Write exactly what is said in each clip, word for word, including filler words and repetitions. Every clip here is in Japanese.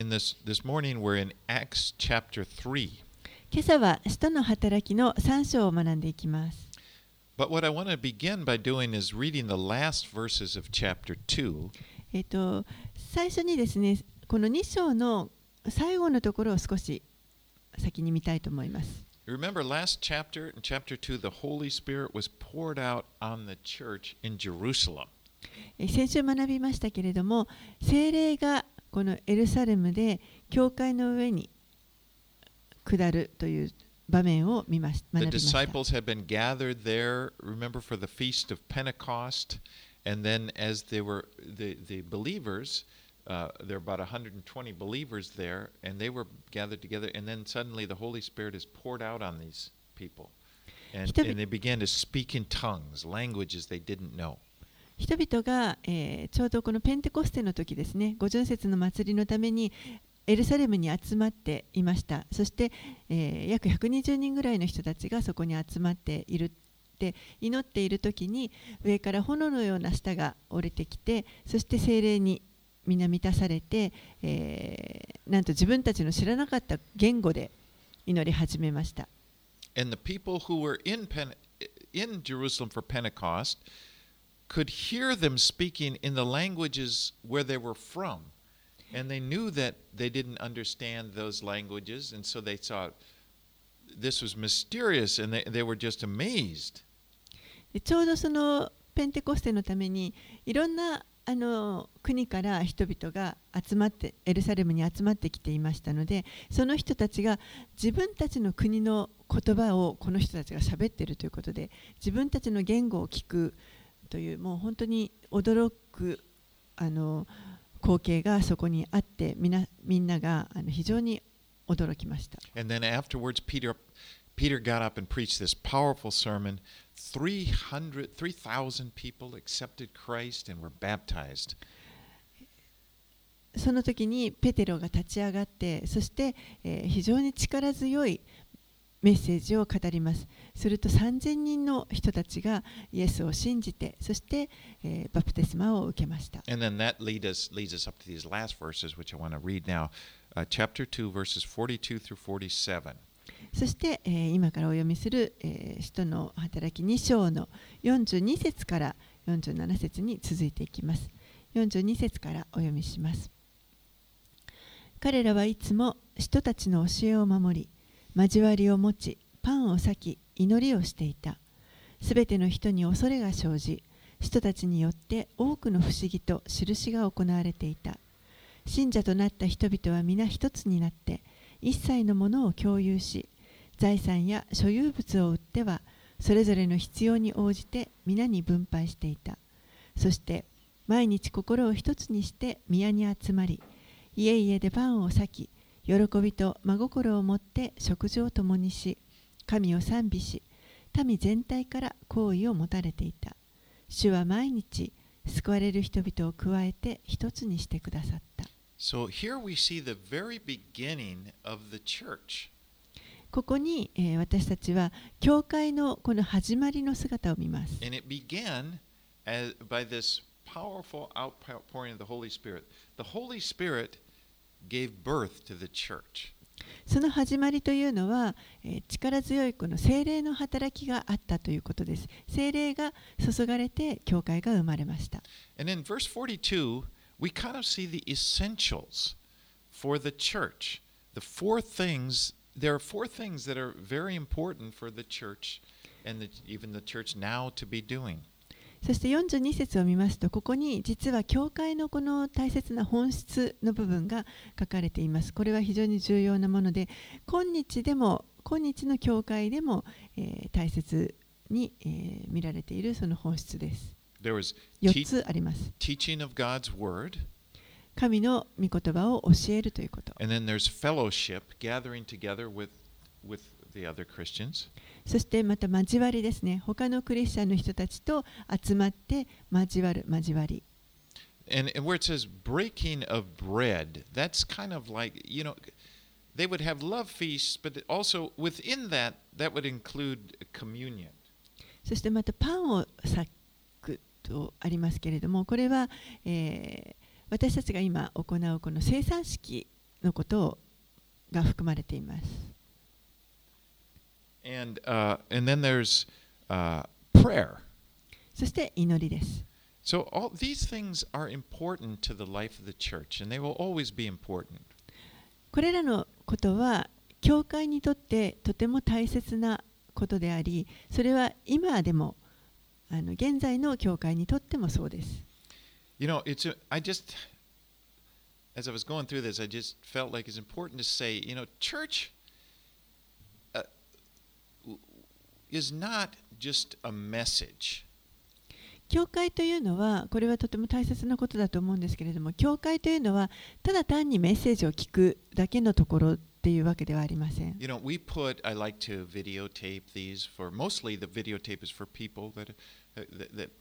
And this, this morning we're in Acts chapter three. 今朝は使徒の働きのさん章を学んでいきます。 But what I want to begin by doing is reading the last verses of chapter two. えっと、最初にですね、このに章の最後のところを少し先に見たいと思います。 Remember last chapter, in chapter two, the Holy Spirit was poured out on the church in Jerusalem. 先週学びましたけれども、聖霊がこのエルサレムで教会の上に下るという場面を見まし学 The びました。 disciples had been gathered there, remember, for the feast of Pentecost. And then as they were, the, the believers, uh, there were about one hundred twenty believers there, and they were gathered together. And then suddenly the Holy Spirit is poured out on these people. And, and they began to speak in tongues, languages they didn't know. 人々が、えー、ちょうどこのペンテコステの時ですね、五旬節の祭りのためにエルサレムに集まっていました。そして、えー、約ひゃくにじゅうにんぐらいの人たちがそこに集まっているって祈っている時に、上から炎のような舌が降りてきて、そして聖霊に皆満たされて、えー、なんと自分たちの知らなかった言語で祈り始めました。 And the people who were in, Pen- in Jerusalem for Pentecost could hear them speaking in the languages where they were from. And they knew that they didn't understand those languages, and so they thought this was mysterious, and they, they were just amazed. ちょうどそのペンテコステのためにいろんなあの国から人々が集まってエルサレムに集まってきていましたので、その人たちが自分たちの国の言葉をこの人たちが喋っているということで、自分たちの言語を聞くという、もう本当に驚くあの光景がそこにあって、みなみんながあの非常に驚きました。 And then afterwards, Peter, Peter got up and preached this powerful sermon. three hundred, three thousand people accepted Christ and were baptized. その時にペテロが立ち上がって、そして、えー、非常に力強いメッセージを語ります。するとさんぜんにんの人たちがイエスを信じて、そして、えー、バプテスマを受けました。 And then that lead us, leads us up to these last verses, which I want to read now, uh, chapter two, verses forty-two through forty-seven. そして、えー、今からお読みする、えー、使徒の働きに章のよんじゅうに節からよんじゅうなな節に続いていきます。よんじゅうに節からお読みします。彼らはいつも人たちの教えを守り、交わりを持ち、パンを裂き、祈りをしていた。すべての人に恐れが生じ、人たちによって多くの不思議と印が行われていた。信者となった人々は皆一つになって、一切のものを共有し、財産や所有物を売っては、それぞれの必要に応じて皆に分配していた。そして、毎日心を一つにして宮に集まり、家々でパンを裂き、喜びと真心を持って食事を共にし、神を賛美し、民全体から好意を持たれていた。主は毎日救われる人々を加えて一つにしてくださった。 So here we see the very beginning of the church. ここに、えー、私たちは教会のこの始まりの姿を見ます。 And it began as, by this powerful outpouring of the Holy Spirit. The Holy Spirit gave birth to the church. その始まりというのは、えー、力強いこの聖霊の働きがあったということです。聖霊が注がれて教会が生まれました。 And in verse forty-two, we kind of see the essentials for the church. The four things, there are four things that are very important for the church and the, even the church now to be doing. そしてよんじゅうに節を見ますと、ここに実は教会のこの大切な本質の部分が書かれています。これは非常に重要なもので、今日でも、今日の教会でも、えー、大切に、えー、見られているその本質です。 There was よっつあります。 teaching of God's word. 神の御言葉を教えるということ。 And then there's fellowship, gathering together with, with the other Christians. そしてまた交わりですね。他のクリスチャンの人たちと集まって交わる交わり。 And, and where it says breaking of bread, that's kind of like, you know, they would have love feasts, but also within that, that would include communion. そしてまたパンを裂くとありますけれども、これは、えー、私たちが今行うこの生産式のことが含まれています。 And, uh, and then there's uh, prayer. そして祈りです。 So all these things are important to the life of the church, and they will always be important. これらのことは教会にとってとても大切なことであり、それは今でもあの現在の教会にとってもそうです。 You know, it's a, I just, as I was going through this, I just felt like it's important to say, you know, church uh, is not just a message. 教会というのは、これはとても大切なことだと思うんですけれども、教会というのはただ単にメッセージを聞くだけのところっていうわけではありません。 You know, we put, I like to videotape these for, mostly the videotape is for people that, that, that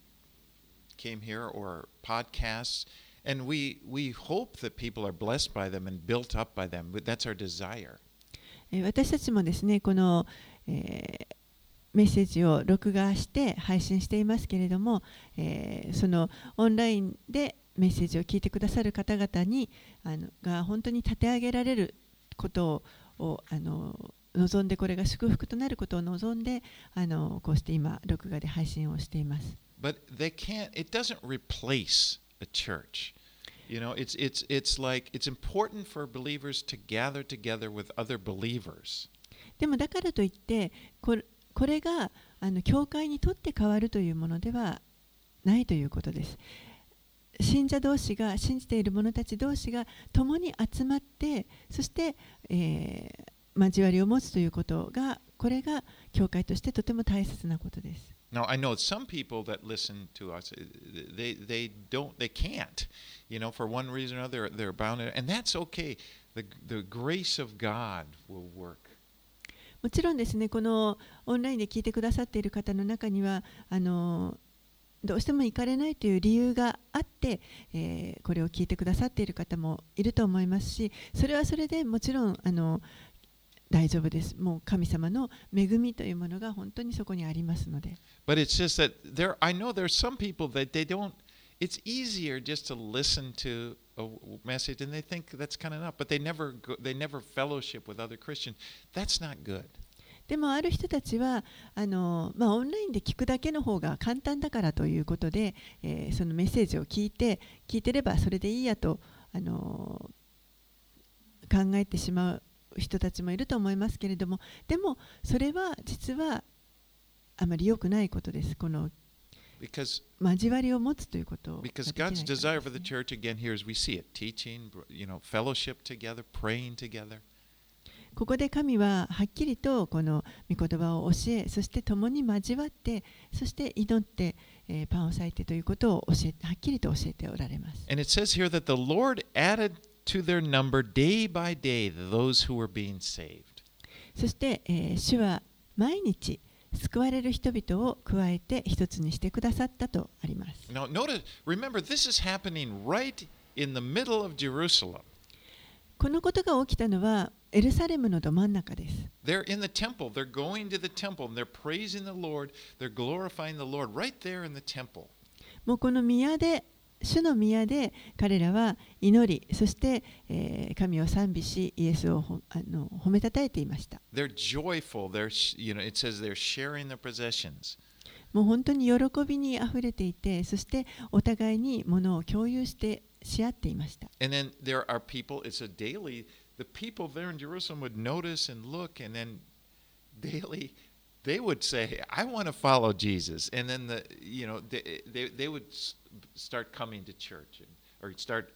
came here or podcasts, and we, we hope that people are blessed by them and built up by them. That's our desire. 私たちもですね、この、えーメッセージを録画して配信していますけれども、えー、そのオンラインでメッセージを聞いてくださる方々にあのが本当に立て上げられることをあの望んで、これが祝福となることを望んで、あのこうして今録画で配信をしています。 But they can't, it doesn't replace a church. You know, it's, it's, it's like, it's important for believers to gather together with other believers. でもだからといってこれこれがあの教会にとって変わるというものではないということです。信者同士が、信じている者たち同士が共に集まって、そして、えー、交わりを持つということが、これが教会としてとても大切なことです。 Now, I know some people that listen to us, they, they don't, they can't, you know, for one reason or another, they're bound, and that's okay. The, the grace of God will work. もちろんですね、このオンラインで聞いてくださっている方の中にはあのどうしても行かれないという理由があって、えー、これを聞いてくださっている方もいると思いますし、それはそれでもちろんあの大丈夫です。もう神様の恵みというものが本当にそこにありますので。 But it's just that there, I know there's some people that they don't, it's easier just to listen to a message and they think that's kind of enough, but they never go, they never fellowship with other Christians. That's not good. でもある人たちはあの、まあ、オンラインで聞くだけの方が簡単だからということで、えー、そのメッセージを聞いて聞いてればそれでいいやとあの考えてしまう人たちもいると思いますけれども、でもそれは実はあまり良くないことです。この Because, 交わりを持つということを。 because God's desire for the church, again, here as we see it, teaching, you know, fellowship together, praying together. ここで神ははっきりとこの御言葉を教え、そして共に交わって、そして祈って、えー、パンを裂いてということを教えはっきりと教えておられます。 And it says here that the Lord added to their number day by day those who were being saved. そして、えー、主は毎日救われる人々を加えて一つにしてくださったとあります。 Now, notice, remember, this is happening right in the middle of Jerusalem. このことが起きたのはエルサレムのど真ん中です。 They're in the temple. They're going to the temple and they're praising the Lord. They're glorifying the Lord right there in the temple. もうこの宮で、主の宮で彼らは祈り、そして、えー、神を賛美し、イエスをほあの褒めたたえていました。 They're joyful. They're, you know, it says they're sharing their possessions. もう本当に喜びにあふれていて、そしてお互いに物を共有してし合っていました。 And then there are people, it's a daily, the people there in Jerusalem would notice and look, and then daily they would say, I want to follow Jesus. And then the, you know, they, they, they would start coming to church and, or start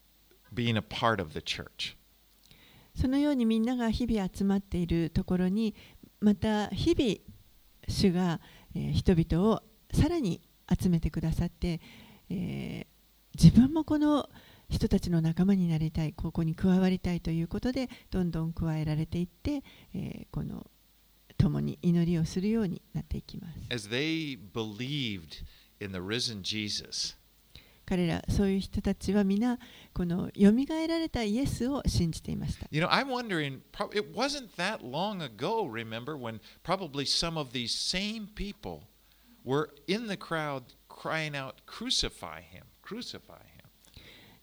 being a part of the church. そのようにみんなが日々集まっているところに、また日々主が、えー、人々をさらに集めてくださって、えー、自分もこの人たちの仲間になりたい、ここに加わりたいということでどんどん加えられていって、えー、この共に祈りをするようになっていきます。 As they believed in the risen Jesus, 彼らそういう人たちは皆このよみがえられたイエスを信じていました。 You know, I'm wondering, it wasn't that long ago, remember, when probably some of these same people were in the crowd crying out, crucify him, crucify him.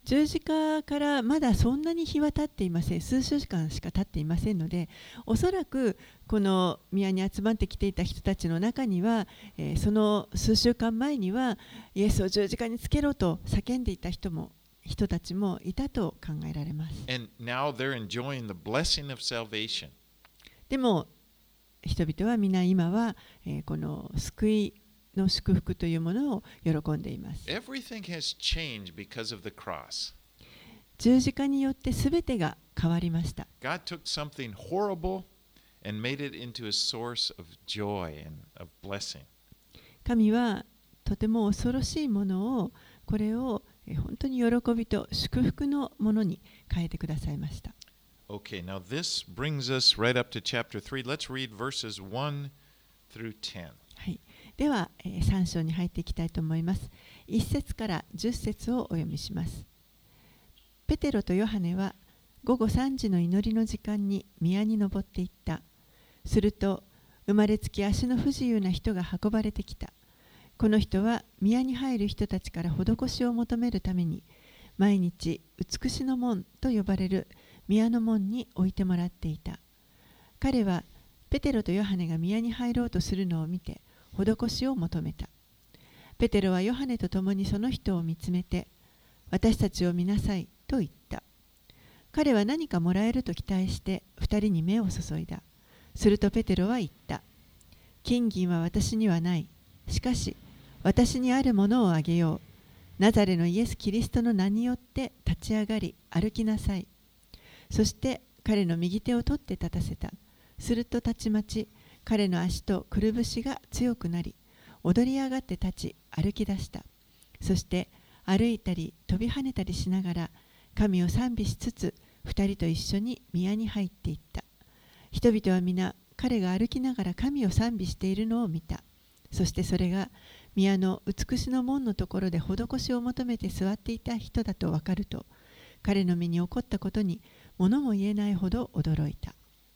十字架からまだそんなに日は経っていません。数週間しか経っていませんので、おそらくこの宮に集まってきていた人たちの中には、えーその数週間前にはイエスを十字架につけろと叫んでいた人も人たちもいたと考えられます。 And now they're enjoying the blessing of salvation. でも人々は皆今は、えーこの救いの祝福というものを喜んでいます。 Everything has changed because of the cross. 十字架によってすべてが変わりました。 God took something horrible and made it into a source of joy and of blessing. 神はとても恐ろしいものをこれをえー本当に喜びと祝福のものに変えてくださいました。 Okay, now this brings us right up to chapter three. Let's read verses one through ten. はい、では、えー、さん章に入っていきたいと思います。いち節からじゅっ節をお読みします。ペテロとヨハネは午後さんじの祈りの時間に宮に登っていった。すると生まれつき足の不自由な人が運ばれてきた。この人は宮に入る人たちから施しを求めるために毎日美しの門と呼ばれる宮の門に置いてもらっていた。彼はペテロとヨハネが宮に入ろうとするのを見て施しを求めた。ペテロはヨハネと共にその人を見つめて、私たちを見なさいと言った。彼は何かもらえると期待して二人に目を注いだ。するとペテロは言った。金銀は私にはない。しかし私にあるものをあげよう。ナザレのイエス・キリストの名によって立ち上がり歩きなさい。そして彼の右手を取って立たせた。するとたちまち彼の足とくるぶしが強くなり、踊り上がって立ち歩き出した。そして歩いたり飛び跳ねたりしながら神を賛美しつつ二人と一緒に宮に入っていった。人々は皆彼が歩きながら神を賛美しているのを見た。そしてそれが宮の美しの門のところで施しを求めて座っていた人だと分かると、彼の身に起こったことに物も言えないほど驚いた。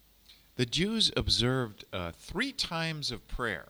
The Jews observed uh, three times of prayer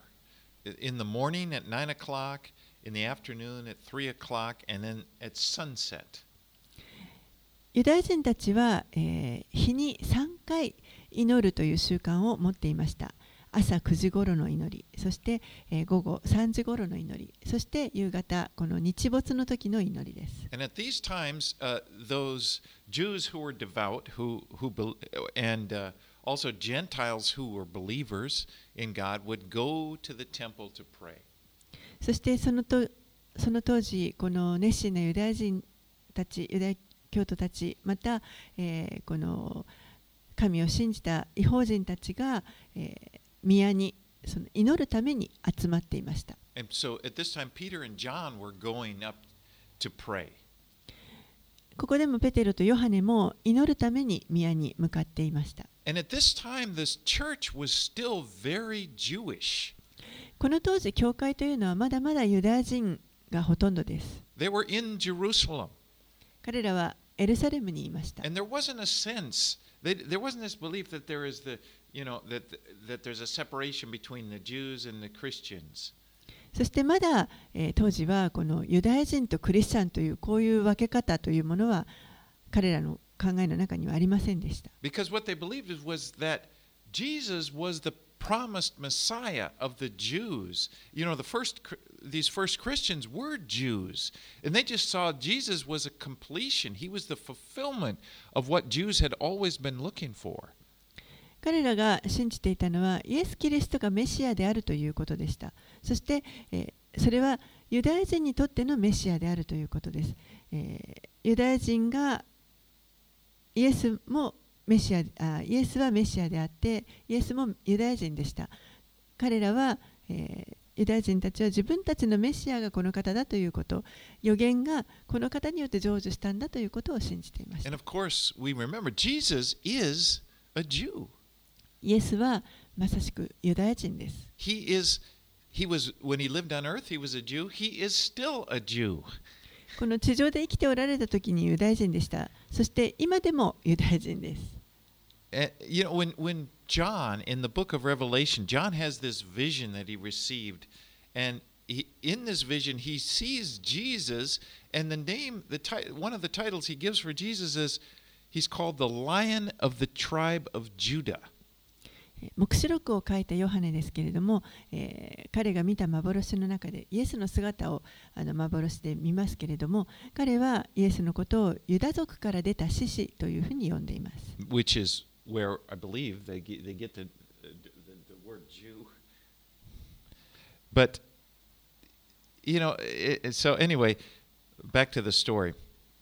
in the morning at nine o'clock, in the afternoon at three o'clock, and then at sunset. ユダヤ人たちは、えー日にさんかい祈るという習慣を持っていました。朝くじ頃の祈り、そして、えー午後さんじ頃の祈り、そして夕方、この日没の時の祈りです。 And at these times, uh, those Jews who were devout, who who bel- and uh, also Gentiles who were believers in God, would go to the temple to pray. そしてそのとその当時、この熱心なユダヤ人たち、ユダヤ教徒たち、また、えーこの神を信じた異邦人たちが、えー宮にその祈るために集まっていました。 And so at this time, Peter and John were going up to pray. ここでもペテロとヨハネも祈るために宮に向かっていました。 And at this time, this church was still very Jewish. この当時、教会というのはまだまだユダヤ人がほとんどです。 They were in Jerusalem. 彼らはエルサレムにいました。 And there wasn't a sense, they, there wasn't this belief that there is the, you know, that, that there's a separation between the Jews and the Christians. そしてまだ、えー当時はこのユダヤ人とクリスチャンというこういう分け方というものは彼らの考えの中にはありませんでした。 Because what they believed was that Jesus was the promised Messiah of the Jews. You know, the first these first Christians were Jews, and they just saw Jesus was a completion. He was the fulfillment of what Jews had always been looking for. 彼らが信じていたのはイエス・キリストがメシアであるということでした。そして、えーそれはユダヤ人にとってのメシアであるということです。えーユダヤ人がイエスもメシアあイエスはメシアであってイエスもユダヤ人でした。彼らは、えーユダヤ人たちは自分たちのメシアがこの方だということ、預言がこの方によって成就したんだということを信じていました。 And of course, we remember Jesus is a Jew. イエスはまさしくユダヤ人です。 He is he was when he lived on earth, he was a Jew. He is still a Jew. この地上で生きておられた時にユダヤ人でした。そして今でもユダヤ人です。 And, you know, when when John in the book of Revelation, John has this vision that he received, and he, in this vision, he sees Jesus, and the name, the ti- one of the titles he gives for Jesus is, he's called the Lion of the Tribe of Judah. 黙示録を書いたヨハネですけれども、えー彼が見た幻の中でイエスの姿をあの幻で見ますけれども、彼はイエスのことをユダ族から出た獅子というふうに呼んでいます。 Which is where I believe they get, they get the, the, the word Jew. But, you know, it, so anyway, back to the story.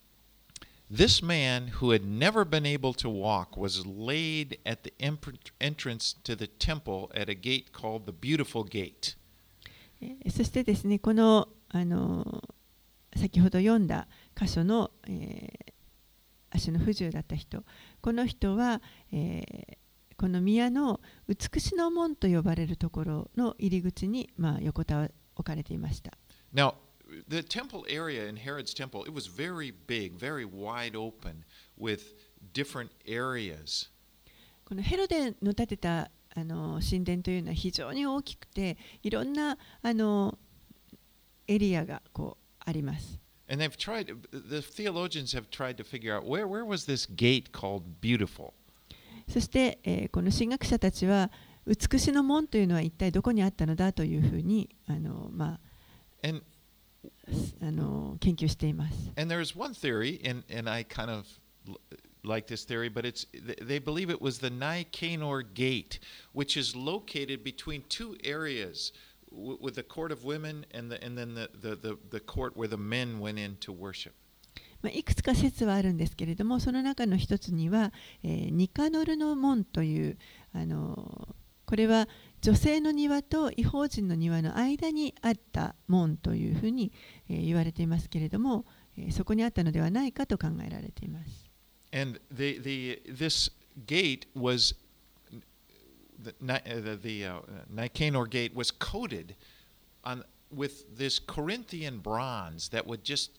This man who had never been able to walk was laid at the entrance to the temple at a gate called the Beautiful Gate. そしてですね、この、あの先ほど読んだ箇所の、えー、足の不自由だった人、この人は、えー、この宮の美しの門と呼ばれるところの入り口に、まあ、横たわ置かれていました。 Now, the temple area in Herod's temple, it was very big, very wide open with different areas. このヘロデの建てたあの神殿というのは非常に大きくて、いろんなあのエリアがこうあります。 And they've tried, the theologians have tried to figure out where, where was this gate called Beautiful? そして、えー、この神学者たちは美しの門というのは一体どこにあったのだというふうにあの、まあ、 And, あの研究しています。 and there's one theory, and, and I kind of like this theory, but it's they believe it was the Nicanor Gate, which is located between two areas, with the court of women and the and then the the the, the court where the men went in to worship. まあ、いくつか説はあるんですけれども、その中の一つには、えー、ニカノルの門というあのこれは女性の庭と異邦人の庭の間にあった門というふうに、えー、言われていますけれども、えー、そこにあったのではないかと考えられています。 And the the this gate was the the, the uh, Nicanor Gate was coated on with this Corinthian bronze that would just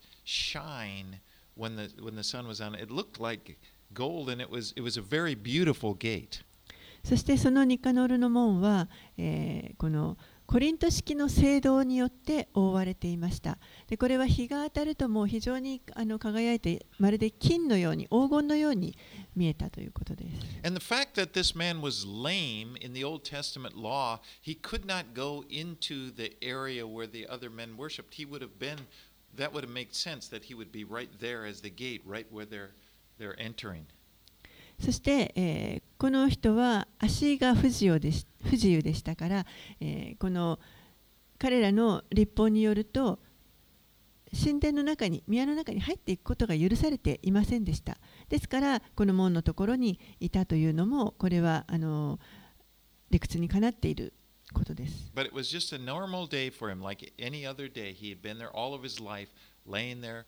shine when the when the sun was on it. It looked like gold, and it was it was a very beautiful gate. そしてそのニカノルの門は、えー、このコリント式の青銅によって覆われていました。でこれは日が当たるともう非常にあの輝いて、まるで金のように黄金のように見えたということです。 And the fact that this man was lame in the Old Testament law, he could not go into the area where the other men worshipped. He would have been, that would have made sense that he would be right there as the gate, right where they're they're entering. そして、えー、この人は足が不自由でし、不自由でしたから、えー、この彼らの律法によると神殿の中に、宮の中に入っていくことが許されていませんでした。ですからこの門のところにいたというのも、これはあの理屈にかなっていることです。 But it was just a normal day for him, like any other day. He had been there all of his life, laying there,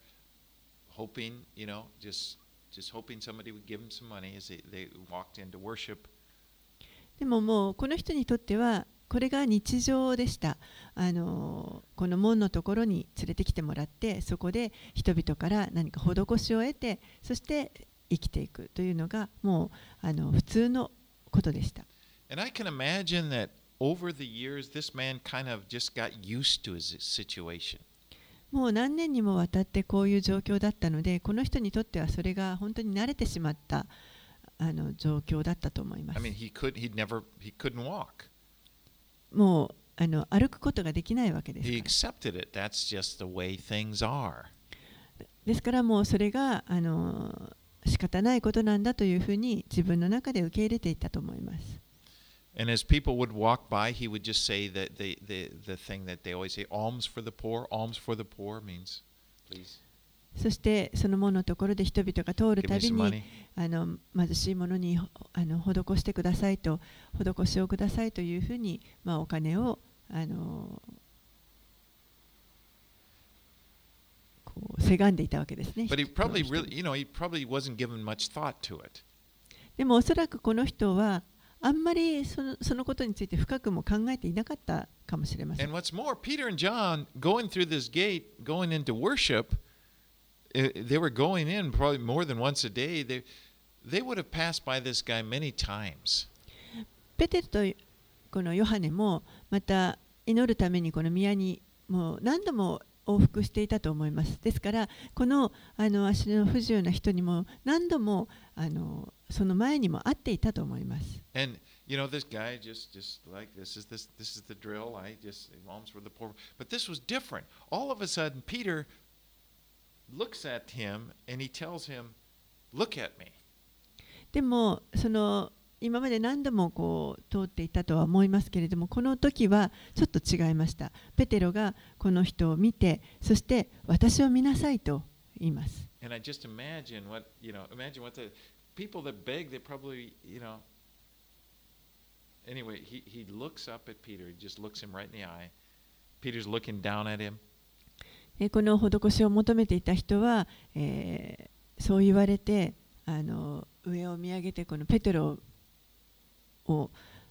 hoping, you know, just just hoping somebody would give him some money as they, they walked in to worship. でももうこの人にとってはこれが日常でした。あのこの門のところに連れてきてもらって、そこで人々から何か施しを得て、そして生きていくというのがもうあの普通のことでした。 And I can imagine that over the years, this man kind of just got used to his situation. もう何年にもわたってこういう状況だったので、この人にとってはそれが本当に慣れてしまったあの状況だったと思います。 I mean, he could, he'd never, he couldn't walk. もうあの歩くことができないわけですか He ら。 accepted it. That's just the way things are. ですからもうそれがあの仕方ないことなんだというふうに自分の中で受け入れていったと思います。 And as people would walk by, he would just say that the, the, the thing that they always say, alms for the poor, alms for the poor means, please. そしてその門のところで人々が通るたび Give me some に money. あの貧しい者にあの施してくださいと、施しをくださいというふうに、まあ、お金をあのこうせがんでいたわけですね。 But he probably really, you know, he probably wasn't given much thought to it. でもおそらくこの人はあんまりその、そのことについて深くも考えていなかったかもしれません。 And what's more, Peter and John going through this gate, going into worship, they were going in probably more than once a day. They, they would have passed by this guy many times. ペテルとこのヨハネもまた祈るためにこの宮にもう何度も往復していたと思います。ですからこの、あの足の不自由な人にも何度もあのその前にも会っていたと思います。 And you know, this guy just, just like this is this, this is the drill. I just alms for the poor. But this was different. All of a sudden, Peter looks at him and he tells him, "Look at me." でもその今まで何度もこう通っていたとは思いますけれども、この時はちょっと違いました。ペテロがこの人を見て、そして私を見なさいと言います。 And I just imagine what, you know, imagine what the people that beg, they probably, you know, anyway, he, he looks up at Peter, he just looks him right in the eye. Peter's looking down at him. この施しを求めていた人は、えー、そう言われて、あの上を見上げてこのペテロを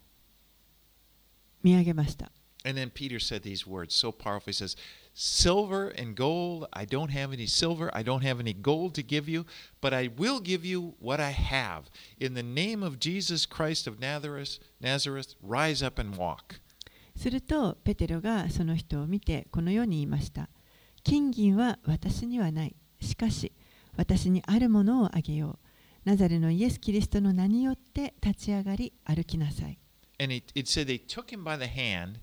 見上げました。 And then Peter said these words so powerful. He says, "Silver and gold, I don't have any silver, I don't have any gold to give you, but I will give you what I have. In the name of Jesus Christ of Nazareth, Nazareth, rise up and walk." するとペテロがその人を見てこのように言いました。金銀は私にはない。しかし私にあるものをあげよう。ナザレのイエス・キリストの名によって立ち上がり歩きなさい。 And it, it said they took him by the hand,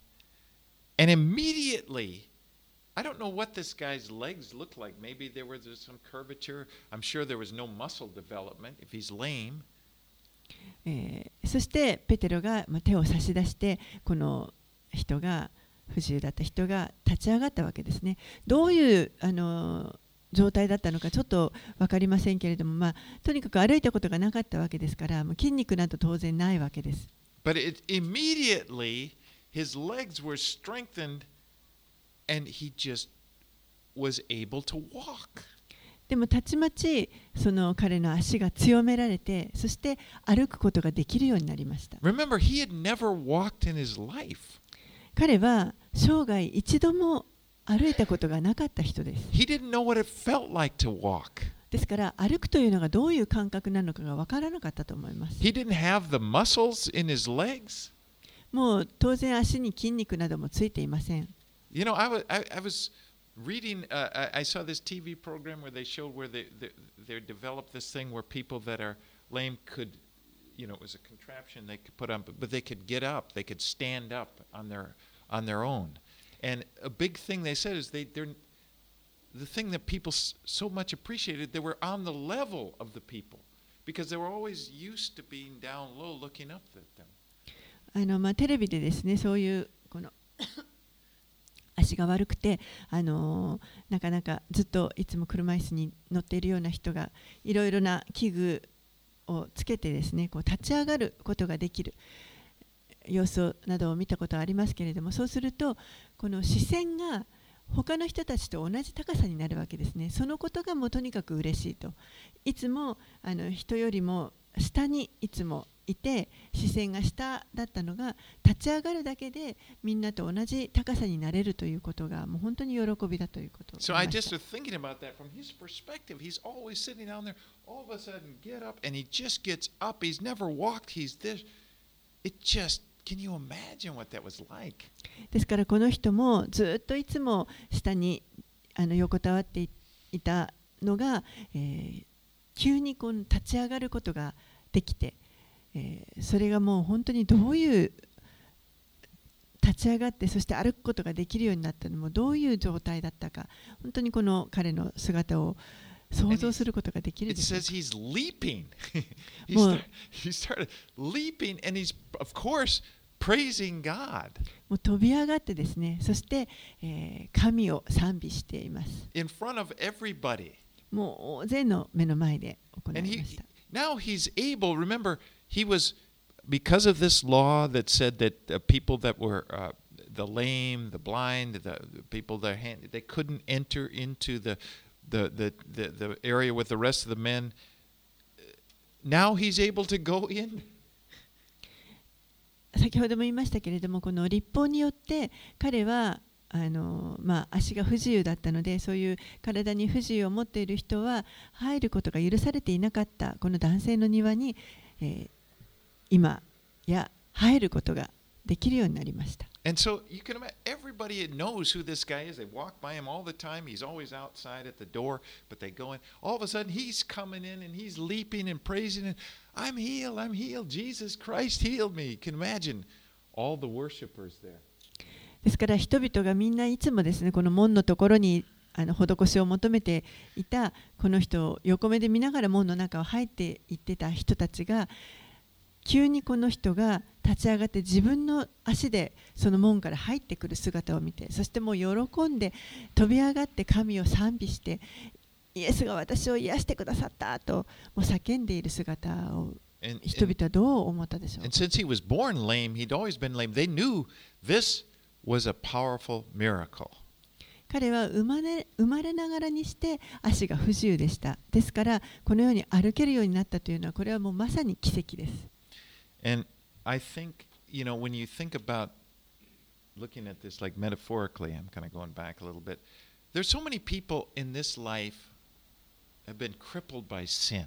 and immediately, I don't know what this guy's legs looked like. Maybe there was some curvature. I'm sure there was no muscle development if he's lame. えー、そしてペテロが手を差し出してこの人が不自由だった人が立ち上がったわけですね。どういうあの状態だったのかちょっと分かりませんけれども、まあ、とにかく歩いたことがなかったわけですからもう筋肉など当然ないわけです。 But it, immediately his legs were strengthened and he just was able to walk. でもたちまちその彼の足が強められて、そして歩くことができるようになりました。 Remember, he had never walked in his life. 彼は生涯一度も歩いたことがなかった人です。 He didn't know what it felt like to walk. ですから歩くというのがどういう感覚なのかが分からなかったと思います。 He didn't have the muscles in his legs. もう当然足に筋肉などもついていません。 You know, I was, I, I was reading, uh, I, I saw this T V program where they showed where they, they, they developed this thing where people that are lame could, you know, it was a contraption they could put on, but, but they could get up, they could stand up on their, on their own. And a big thing they said is they, they're, the thing that people so much appreciated, they were on the level of the people because they were always used to being down low looking up at them. あのまあ、テレビでですね、そういうこの足が悪くて、あのー、なかなかずっといつも車椅子に乗っているような人がいろいろな器具をつけてですね、こう立ち上がることができる様子などを見たことはありますけれども、そうするとこの視線が他の人たちと同じ高さになるわけですね。そのことがもうとにかく嬉しいと。いつもあの人よりも下にいつもいて視線が下だったのが立ち上がるだけでみんなと同じ高さになれるということがもう本当に喜びだということを So I just was thinking about that from his perspective. He's always sitting down there, all of a sudden get up, and he just gets up. He's never walked. He's this. It just, can you imagine what that was like? ですからこの人もずっといつも下にあの横たわっていたのが、えー、急にこう立ち上がることができて、えー、それがもう本当にどういう立ち上がってそして歩くことができるようになったのもどういう状態だったか、本当にこの彼の姿を想像することができるでしょうか。 It says he's leaping. he, start, he started leaping and he's of course praising God. もう飛び上がってですね、そして、えー、神を賛美しています。 In front of everybody. もう大勢の目の前で行いました。 Now he's able, remember, he was, because of this law that said that uh, people that were uh, the lame, the blind, the, the people that hand, they couldn't enter into the, the, the, the, the area with the rest of the men. Now he's able to go in. 先ほども言いましたけれども、この律法によって彼はあのまあ、足が不自由だったので、そういう体に不自由を持っている人は入ることが許されていなかったこの男性の庭に、えー、今や入ることができるようになりました。 And so you can imagine everybody knows who this guy is. They walk by him all the time. He's always outside at the door, but they go in. All of a sudden, he's coming in and he's leaping and praising. And I'm healed. I'm healed. Jesus Christ healed me. You can imagine all the worshipers there. ですから人々がみんないつもですね、この門のところにあの施しを求めていたこの人を横目で見ながら門の中を入っていってた人たちが、急にこの人が立ち上がって自分の足でその門から入ってくる姿を見て、そしてもう喜んで飛び上がって神を賛美して、イエスが私を癒してくださったともう叫んでいる姿を人々はどう思ったでしょう。 And since he was born lame, he'd always been lame. They knew this was a powerful miracle. 彼は生まれ、生まれながらにして足が不自由でした。ですからこのように歩けるようになったというのは、これはもうまさに奇跡です。 And I think, you know, when you think about looking at this like metaphorically, I'm kind of going back a little bit. There's so many people in this life have been crippled by sin.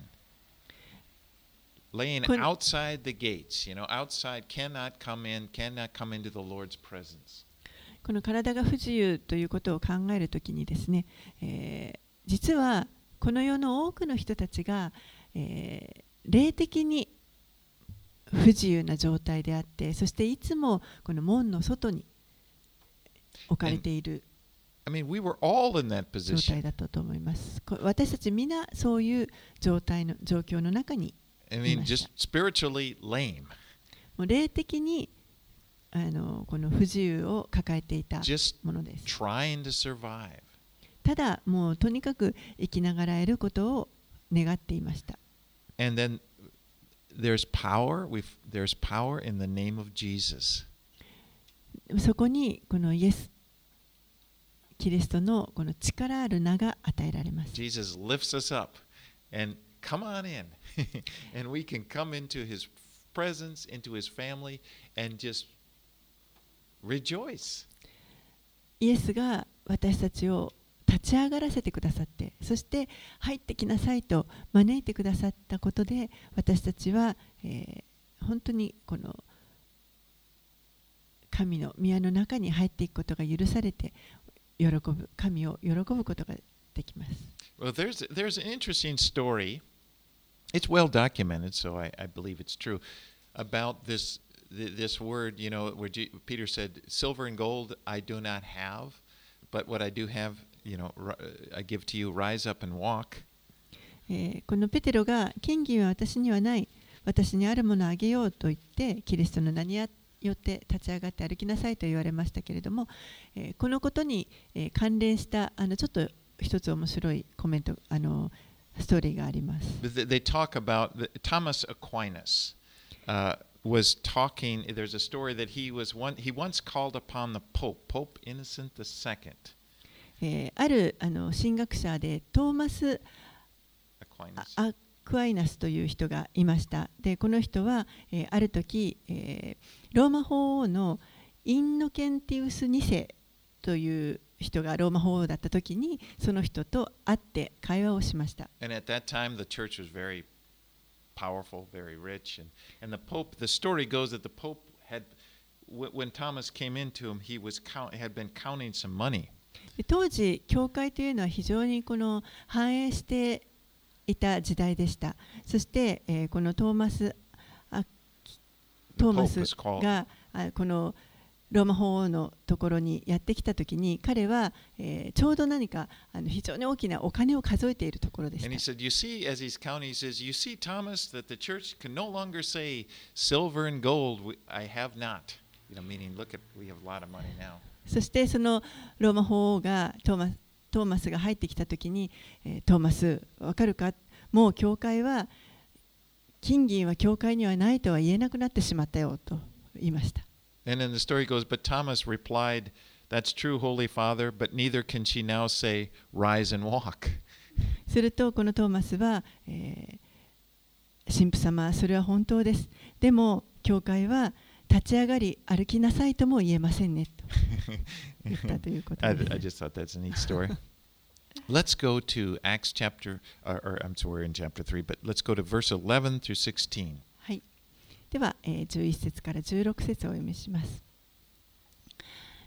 Laying outside the gates, you know, outside, cannot come in, cannot come into the Lord's presence. この体が不自由ということを考えるときにですね、えー、実はこの世の多くの人たちが、えー、霊的に不自由な状態であって、そしていつもこの門の外に置かれている I mean, we were all in that 状 position. 態だったと思います。私たちみんなそういう状態の状況の中に I い mean, まし just た。 spiritually lame. もう霊的にあのこの不自由を抱えていた Just ものです。 trying to survive. ただもうとにかく生きながらえることを願っていました。 And then there's power. We've, there's power in the name of Jesus. そこにこのイエス・キリストのこの力ある名が与えられます。 Jesus lifts us up and come on in. And we can come into his presence, into his family, and just rejoice. イエスが私たちを立ち上がらせてくださって、そして入ってきなさいと招いてくださったことで、私たちは、えー、本当にこの神の宮の中に入っていくことが許されて、喜ぶ神を喜ぶことができます。 Well, there's there's an interesting story. It's well documented, so I, I believe it's true. About this this word, you know, where G, Peter said, "Silver and gold I do not have, but what I do have, you know, I give to you. Rise up and walk." えー、このペテロが金銀は私にはない、私にあるものをあげようと言ってキリストの名によって立ち上がって歩きなさいと言われましたけれども、えー、このことに、えー、関連したあのちょっと一つ面白いコメント、あのストーリーがあります。 They talk about the, Thomas Aquinas uh, was talking. There's a story that he was one. He once called upon the Pope, Pope Innocent the Second. えー、あるあの神学者でトーマス・アクアイナスという人がいました。で、この人は、えー、ある時、えー、ローマ法王のインノケンティウスに世という人がローマ法王だった時にその人と会って会話をしました。 And at that time the church was very powerful, very rich, and and the Pope. The story goes that the Pope had, when Thomas came into him, he was count, had been counting some money. 当時教会というのは非常にこの繁栄していた時代でした。そして、えー、このトーマスあトーマスがこのローマ法王のところにやってきたときに彼は、えー、ちょうど何かあの非常に大きなお金を数えているところでした。 And he said, "You see, as he's counting, he says, you see, Thomas, that the church can no longer say, silver and gold I have not. You know, meaning, look at, we have a lot of money now." そしてそのローマ法王がトーマス、トーマスが入ってきたときに、えー、トーマス、わかるか？もう教会は金銀は教会にはないとは言えなくなってしまったよと言いました。 And then the story goes, but Thomas replied, "That's true, Holy Father, but neither can she now say, rise and walk." するとこのトーマスは、えー、神父様、それは本当です。でも教会は立ち上がり歩きなさいとも言えませんねと言ったということです。 I, I just thought that's a neat story. Let's go to Acts chapter, or, or I'm sorry, we're in chapter three, but let's go to verse eleven through sixteen. はい。では、えー、じゅういっ節からじゅうろく節をお読みします。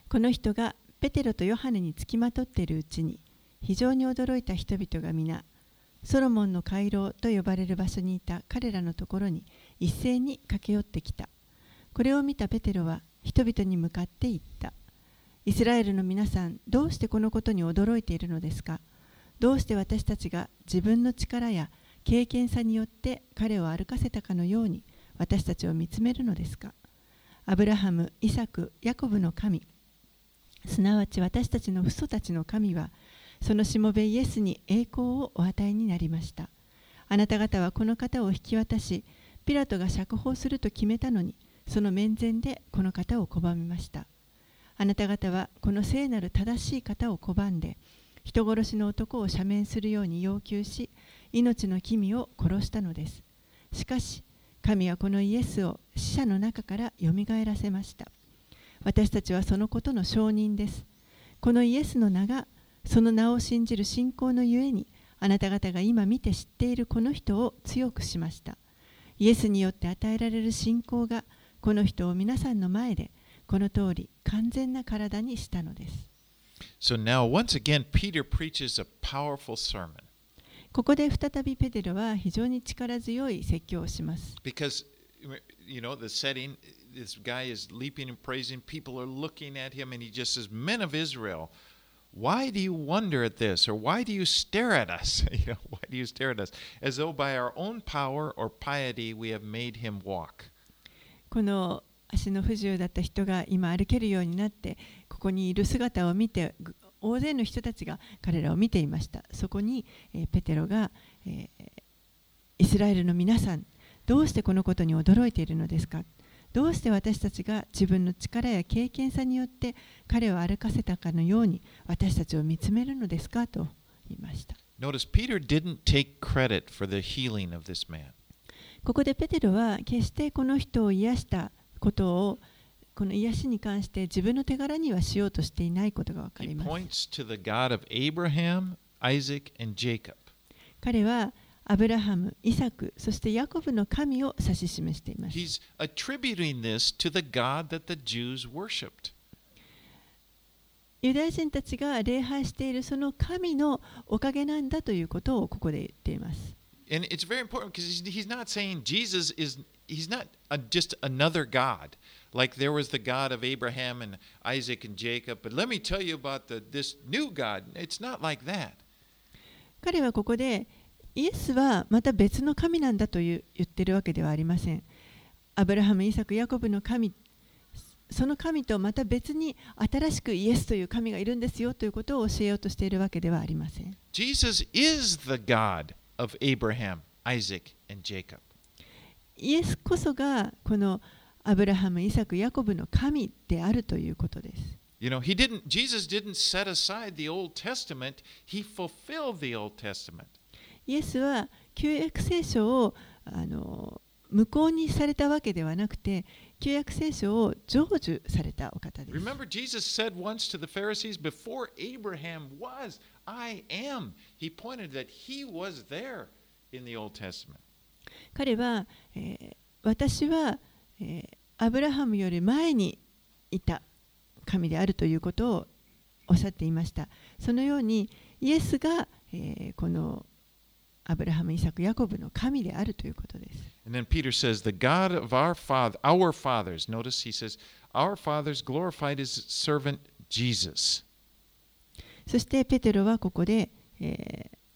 この人がペテロとヨハネにつきまとっているうちに、非常に驚いた人々が皆、ソロモンの回廊と呼ばれる場所にいた彼らのところに一斉に駆け寄ってきた。これを見たペテロは人々に向かって言った。イスラエルの皆さん、どうしてこのことに驚いているのですか？どうして私たちが自分の力や経験さによって彼を歩かせたかのように私たちを見つめるのですか？アブラハム、イサク、ヤコブの神、すなわち私たちの父祖たちの神は、そのしもべイエスに栄光をお与えになりました。あなた方はこの方を引き渡し、ピラトが釈放すると決めたのに、その面前でこの方を拒みました。あなた方はこの聖なる正しい方を拒んで、人殺しの男を赦免するように要求し、命の君を殺したのです。しかし、神はこのイエスを死者の中からよみがえらせました。私たちはそのことの証人です。このイエスの名が、その名を信じる信仰のゆえに、あなた方が今見て知っているこの人を強くしました。イエスによって与えられる信仰が、この人を皆さんの前で、この通り完全な体にしたのです。 So now, once again, Peter preaches a powerful sermon. ここで再びペテロは非常に力強い説教をします。 Because, you know, the setting, this guy is leaping and praising. People are looking at him, and he just says, Men of Israel, why do you wonder at this? Or why do you stare at us? You know, why do you stare at us? As though by our own power or piety we have made him walk. この足の不自由だった人が今歩けるようになって、ここにいる姿を見て、大勢の人たちが彼らを見ていました。そこに、えー、ペテロが、えー、イスラエルの皆さん、どうしてこのことに驚いているのですか？どうして私たちが自分の力や経験さによって彼を歩かせたかのように私たちを見つめるのですかと言いました。 Notice Peter didn't take credit for the healing of this man. ここでペテロは決してこの人を癒したことを、この癒しに関して自分の手柄にはしようとしていないことがわかり He ます。 points to the God of Abraham, Isaac, and Jacob. 彼はアブラハム、イサク、そしてヤコブの神を指し示しています。 He's attributing this to the God that the Jews worshipped. ユダヤ人たちが礼拝しているその神のおかげなんだということをここで言っています。 And it's very important because he's, he's not saying Jesus is, he's not a, just another God. Like there was the God of Abraham and Isaac and Jacob. But let me tell you about the, this new God. It's not like that. 彼はここでイエスはまた別の神なんだという言ってるわけではありません。アブラハム、イサク、ヤコブの神、その神とまた別に新しくイエスという神がいるんですよということを教えようとしているわけではありません。 Jesus is the God of Abraham, Isaac, and Jacob. イエスこそがこのアブラハム、イサク、ヤコブの神であるということです。 You know, he didn't, Jesus didn't set aside the Old Testament. He fulfilled the Old Testament. イエスは旧約聖書をあの無効にされたわけではなくて、旧約聖書を成就されたお方です。 Remember, Jesus said once to the Pharisees, before Abraham was, I am. He pointed that he was there in the Old Testament. 彼は、えー、私は、えー、アブラハムより前にいた神であるということをおっしゃっていました。そのようにイエスが、えー、このアブラハム、イサク、ヤコブの神であるということです。 And then Peter says, the God of our father, our fathers, notice he says, our fathers glorified his servant Jesus. そしてペテロはここで、えー、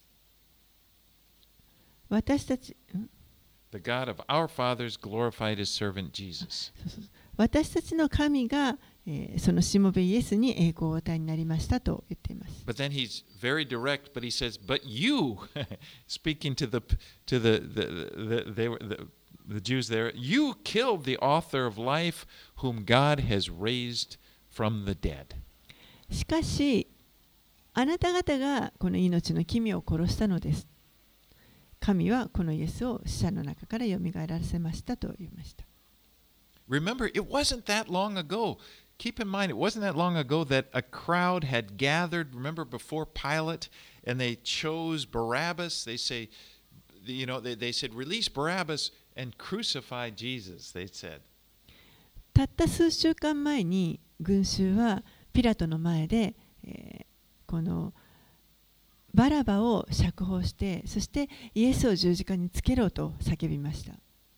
私たち、ん The God of our fathers glorified his servant Jesus. そうそう私たちの神が、えー、そのしもべイエスに栄光をお与えになりましたと言っています。 But then he's very direct, but he says, but you, speaking to the to the the, the, they were, the the Jews there, you killed the author of life whom God has raised from the dead. しかし、あなた方がこの命の君を殺したのです。神はこのイエスを死者の中からよみがえらせましたと言いました。 Remember, it wasn't that long ago. Keep in mind, it wasn't that long ago that a crowd had gathered, remember, before Pilate, and they chose Barabbas. They say, you know, they, they said, release Barabbas and crucify Jesus, they said. たった数週間前に群衆はピラトの前で、えー、このバラバを釈放して、そしてイエスを十字架につけろと叫びました。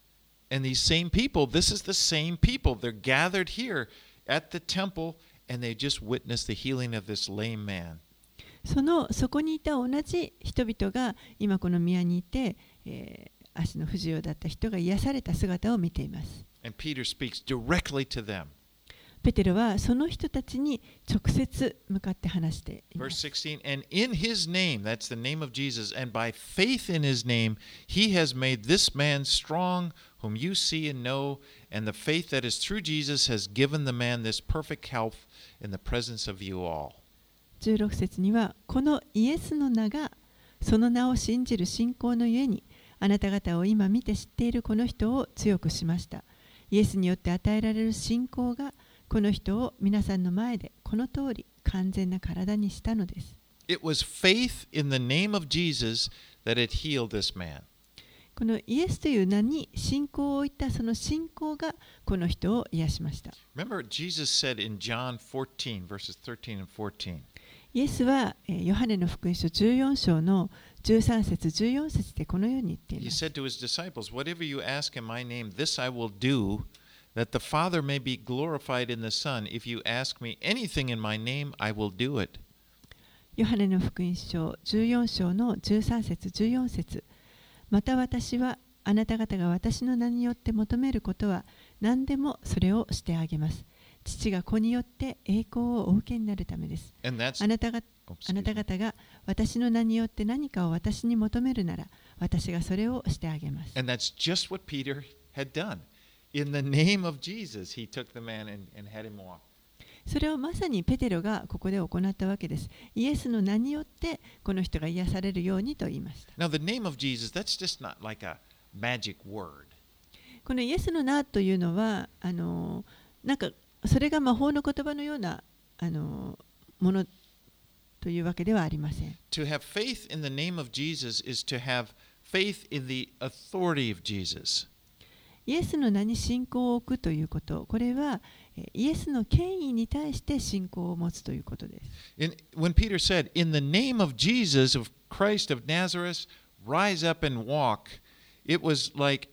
And these same people, this is the same people. They're gathered here at the temple and they just witnessed the healing of this lame man. そのそこにいた同じ人々が今この宮にいて、えー、足の不自由だった人が癒された姿を見ています。 And Peter speaks directly to them. ペテロはその人たちに直接向かって話しています。 Verse sixteen, and in his name, that's the name of Jesus, and by faith in his name, he has made this man strong, whom you see and know, and the faith that is through Jesus has given the man this perfect health in the presence of you all. じゅうろく節には、このイエスの名が、その名を信じる信仰のゆえに、あなた方を今見て知っているこの人を強くしました。イエスによって与えられる信仰が、この人を皆さんの前でこの通り完全な体にしたのです。 It was faith in the name of Jesus that it healed this man. このイエスという名に信仰を置いたその信仰がこの人を癒しました。 Remember, Jesus said in John fourteen, verses thirteen and fourteen. イエスはヨハネの福音書じゅうよん章のじゅうさん節じゅうよん節でこのように言っています。 He said to his disciples, Whatever you ask in my name, this I will do, that the Father may be glorified in the Son. If you ask me anything in my name, I will do it. ヨハネの福音書じゅうよん章のじゅうさん節じゅうよん節。また私はあなた方が私の名によって求めることは何でもそれをしてあげます。父が子によって栄光をお受けになるためです。あなたが、あなた方が私の名によって何かを私に求めるなら、私がそれをしてあげます。 And that's just what Peter had done. In the name of Jesus, he took the man and, and had him walk. それをまさにペテロがここで行ったわけです。イエスの名によってこの人が癒されるようにと言いました。 Now, the name of Jesus, that's just not like a magic word. このイエスの名というのは、あのなんかそれが魔法の言葉のようなあのものというわけではありません。 To have faith in the name of Jesus is to have faith in the authority of Jesus. イエスの名に信仰を置くということ、これはイエスの権威に対して信仰を持つということです。 In, when Peter said, In the name of Jesus, of Christ of Nazareth, rise up and walk, it was like,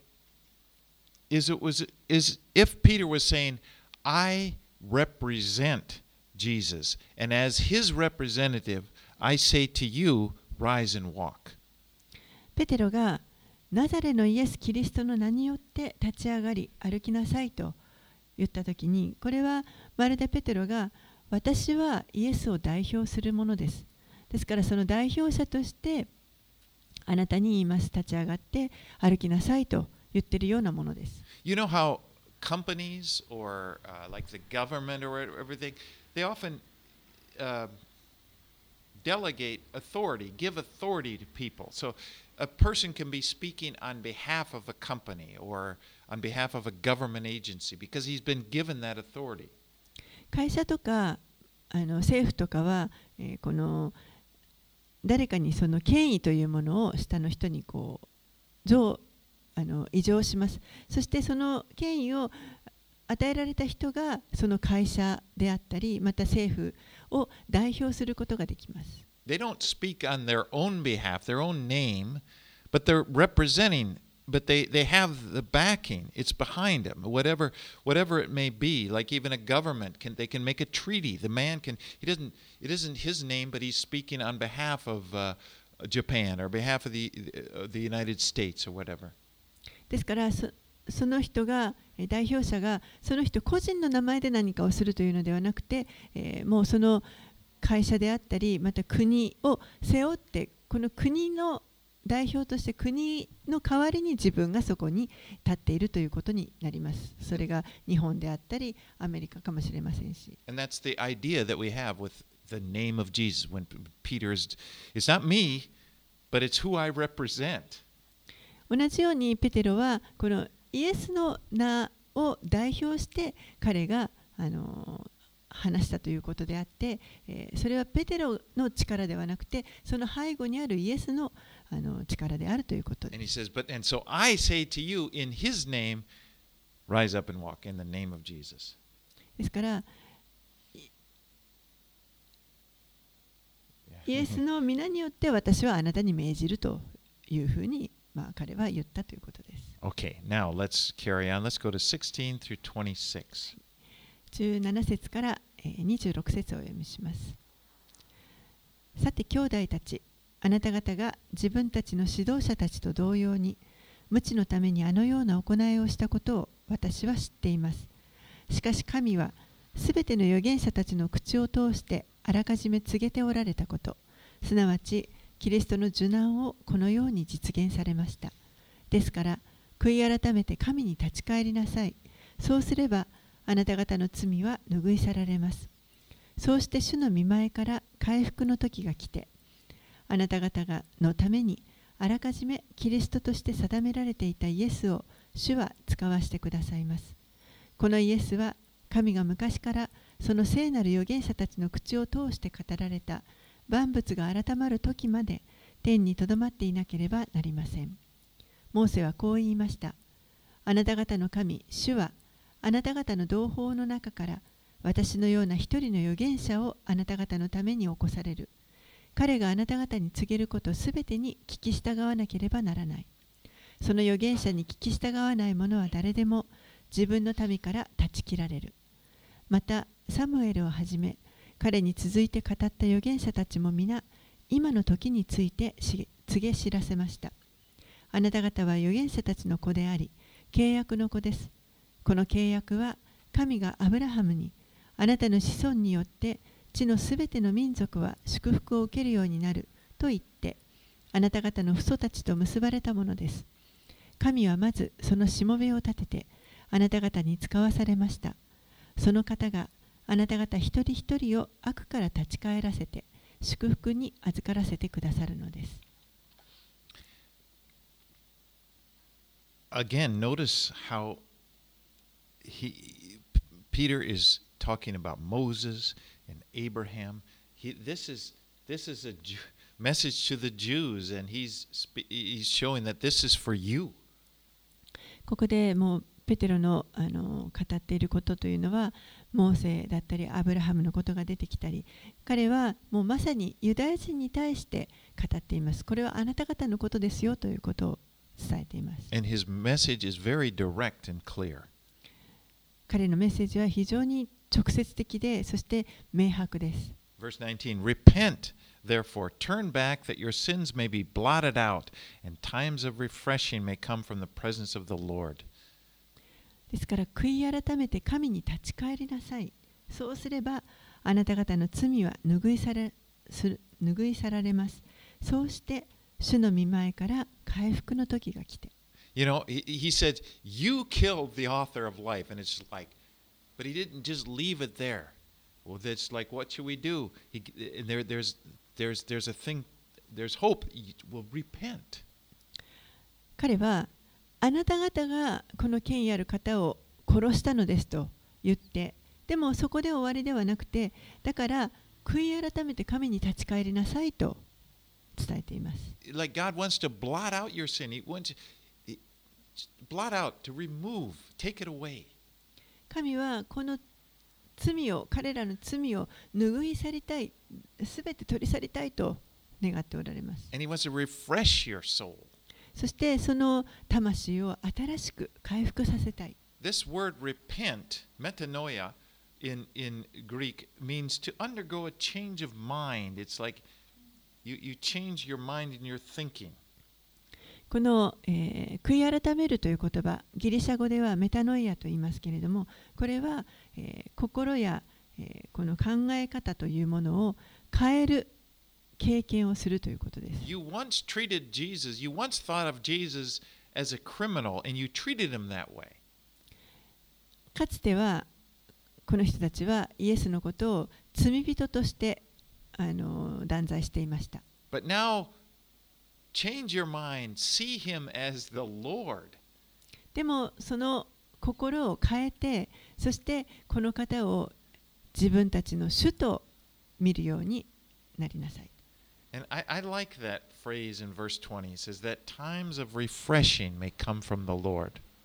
is it was, is if Peter was saying, I represent Jesus, and as his representative, I say to you, rise and walk. ペテロがナザレのイエス・キリストの名によって立ち上がり歩きなさいと言ったときに、これはまるでペテロが私はイエスを代表するものです。ですからその代表者としてあなたに言います。立ち上がって歩きなさいと言っているようなものです。 You know how companies or uh, like the government or everything, they often uh, delegate authority, give authority to people. So a person can be speaking on behalf of a company or on behalf of a government agency because he's been given that authority. 会社とかあの政府とかは、えー、この誰かにその権威というものを下の人にこう上あの移譲します。そしてその権威を与えられた人がその会社であったりまた政府を代表することができます。 They don't speak on their own behalf, their own name, but they're representing, but they, they have the backing. It's behind them, whatever whatever it may be. Like even a government can they can make a treaty. The man can he doesn't it isn't his name, but he's speaking on behalf of uh, Japan or behalf of the uh, the United States or whatever. ですからそその人が代表者がその人個人の名前で何かをするというのではなくて、えー、もうその会社であったりまた国を背負ってこの国の代表として国の代わりに自分がそこに立っているということになります。それが日本であったりアメリカかもしれませんし。 And that's the idea that we have with the name of Jesus. When Peter is, it's not me, but it's who I represent. 同じようにペテロはこのイエスの名を代表して彼があの話したということであって、えー、それはペテロの力ではなくてその背後にあるイエスの、あの力であるということです。 And he says, but and so I say to you in his name, Rise up and walk in the name of Jesus. ですからイエスの皆によって私はあなたに命じるというふうに、まあ、彼は言ったということです。 Okay, now let's carry on. Let's go to sixteen through twenty-six. じゅうなな節からにじゅうろく節をお読みします。さて兄弟たち、あなた方が自分たちの指導者たちと同様に無知のためにあのような行いをしたことを私は知っています。しかし神はすべての預言者たちの口を通してあらかじめ告げておられたこと、すなわちキリストの受難をこのように実現されました。ですから悔い改めて神に立ち返りなさい。そうすればあなた方の罪は拭い去られます。そうして主の御前から回復の時が来て、あなた方がのためにあらかじめキリストとして定められていたイエスを主は使わしてくださいます。このイエスは神が昔からその聖なる預言者たちの口を通して語られた万物が改まる時まで天にとどまっていなければなりません。モーセはこう言いました。あなた方の神、主はあなた方の同胞の中から私のような一人の預言者をあなた方のために起こされる。彼があなた方に告げることすべてに聞き従わなければならない。その預言者に聞き従わない者は誰でも自分の民から断ち切られる。またサムエルをはじめ彼に続いて語った預言者たちも皆今の時について告げ知らせました。あなた方は預言者たちの子であり契約の子です。この契約は神がアブラハムにあなたの子孫によって地のすべての民族は祝福を受けるようになると言ってあなた方の父祖たちと結ばれたものです。神はまずそのしもべを立ててあなた方に使わされました。その方があなた方一人一人を悪から立ち返らせて祝福に預からせてくださるのです。 Again, notice how he, Peter is talking about Moses and Abraham. He, this is this is a Jew, message to the Jews, and he's he's showing that this is for you. ここでもうペテロのあの語っていることというのはモーセだったりアブラハムのことが出てきたり、彼はもうまさにユダヤ人に対して語っています。これはあなた方のことですよということを伝えています。 And his message is very direct and clear. 彼のメッセージは非常に直接的で、そして明白です。 Verse nineteen, Repent, therefore, turn back that your sins may be blotted out, and times of refreshing may come from the presence of the Lord. ですから悔い改めて神に立ち返りなさい。そうすればあなた方の罪は拭い去らする拭い去られます。そうして主の御前から回復の時が来て。 You know, he, he said, You killed the author of life. And it's like, but he didn't just leave it there. Well, it's like, what should we do? He, and there, there's, there's, there's a thing, there's hope. We'll repent. 彼はあなた方がこの権威ある方を殺したのですと言って、でもそこで終わりではなくて、だから悔い改めて神に立ち返りなさいと伝えています。 Like God wants to blot out your sin. He wants to blot out, to remove, take it away. 神はこの罪を、彼らの罪を拭い去りたい、すべて取り去りたいと願っておられます。 And he wants to refresh your soul. そしてその魂を新しく回復させたい。 This word repent, metanoia, in, in Greek means to undergo a change of mind. It's like you, you change your mind in your thinking. この、えー、悔い改めるという言葉、ギリシャ語ではメタノイアと言いますけれども、これは、えー、心や、えー、この考え方というものを変える経験をするということです。 You once treated Jesus, you once thought of Jesus as a criminal, and you treated him that way. かつてはこの人たちはイエスのことを罪人としてあの断罪していました。 But now, change your mind, see him as the Lord. でもその心を変えて、そしてこの方を自分たちの主と見るようになりなさい。 And I, I like that phrase in verse twenty. It says that times of refreshing may come from the Lord.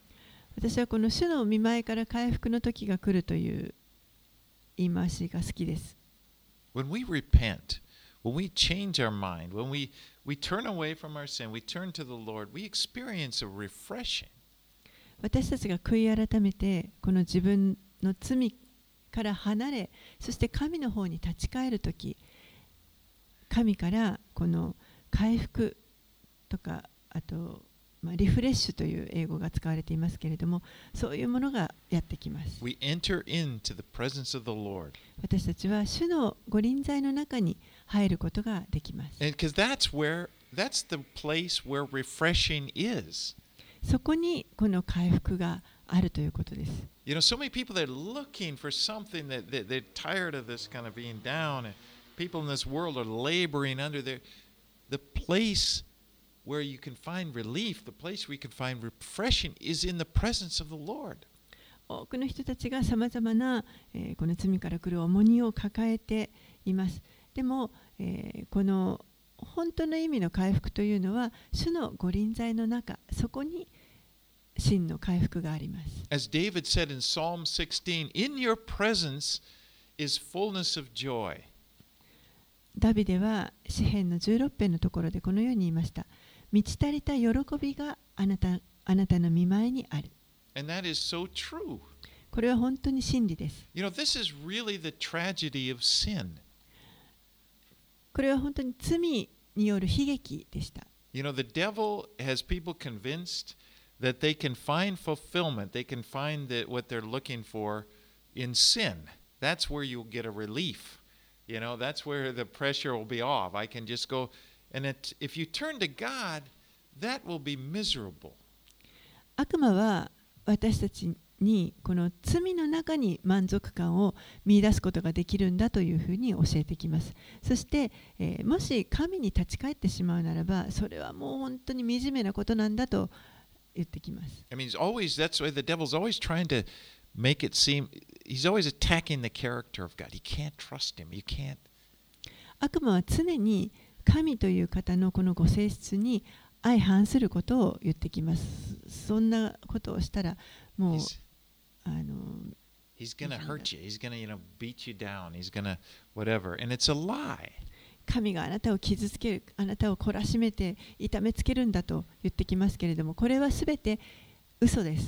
私はこの主の御前から回復の時が来るという言い回しが好きです。 When we repent, when we change our mind, when we, we turn away from our sin, we turn to the Lord, we experience a refreshing. 私たちが悔い改めてこの自分の罪から離れ、そして神の方に立ち返るとき、神からこの回復とか、あと、まあ、リフレッシュという英語が使われていますけれども、そういうものがやってきます。 We enter into the presence of the Lord. 私たちは主の御臨在の中に入ることができます。 And because that's where, that's the place where refreshing is. そこにこの回復があるということです。 You know, so many people that are looking for something that, that they're tired of this kind of being down, and people in this world are laboring under their, the place where you can find relief, the place where you can find refreshing is in the presence of the Lord. 多くの人たちがさまざまな、えー、この罪から来る重荷を抱えています。でも、えー、この本当の意味の回復というのは主の御臨在の中、そこに真の回復があります。 As David said in Psalm sixteen, in your presence is fullness of joy. ダビデは詩編のじゅうろく編のところでこのように言いました。満ち足りた喜びがあなた、あなたの御前にある。 And that is so true. これは本当に真理です。 You know, this is really the tragedy of sin. これは本当に罪による悲劇でした。 You know, the devil has people convinced that they can find fulfillment, they can find that what they're looking for in sin. That's where you'll get a relief. You know, that's where the pressure will be off. I can just go, and it, if you turn to God, that will be miserable. 悪魔は私たちにこの罪の中に満足感を見出すことができるんだというふうに教えてきます。そして、えー、もし神に立ち返ってしまうならば、それはもう本当に惨めなことなんだと言ってきます。 I mean, he's always, that's why the devil's always trying to make it seem, he's always attacking the character of God. You can't trust him. You can't. 悪魔は常に神という方のこのご性質に相反することを言ってきます。そんなことをしたらもう He's, あの he's going to hurt you. He's going to, you know, beat you down. He's going to whatever. And it's a lie. 神があなたを傷つける、あなたを懲らしめて痛めつけるんだと言ってきますけれども、これはすべて嘘です。